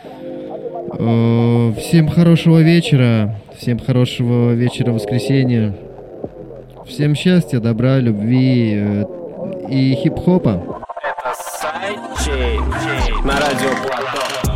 H: Э, всем хорошего вечера, всем хорошего вечера воскресенья, всем счастья, добра, любви э, и хип-хопа.
L: Это сайт Чей на радио Плато.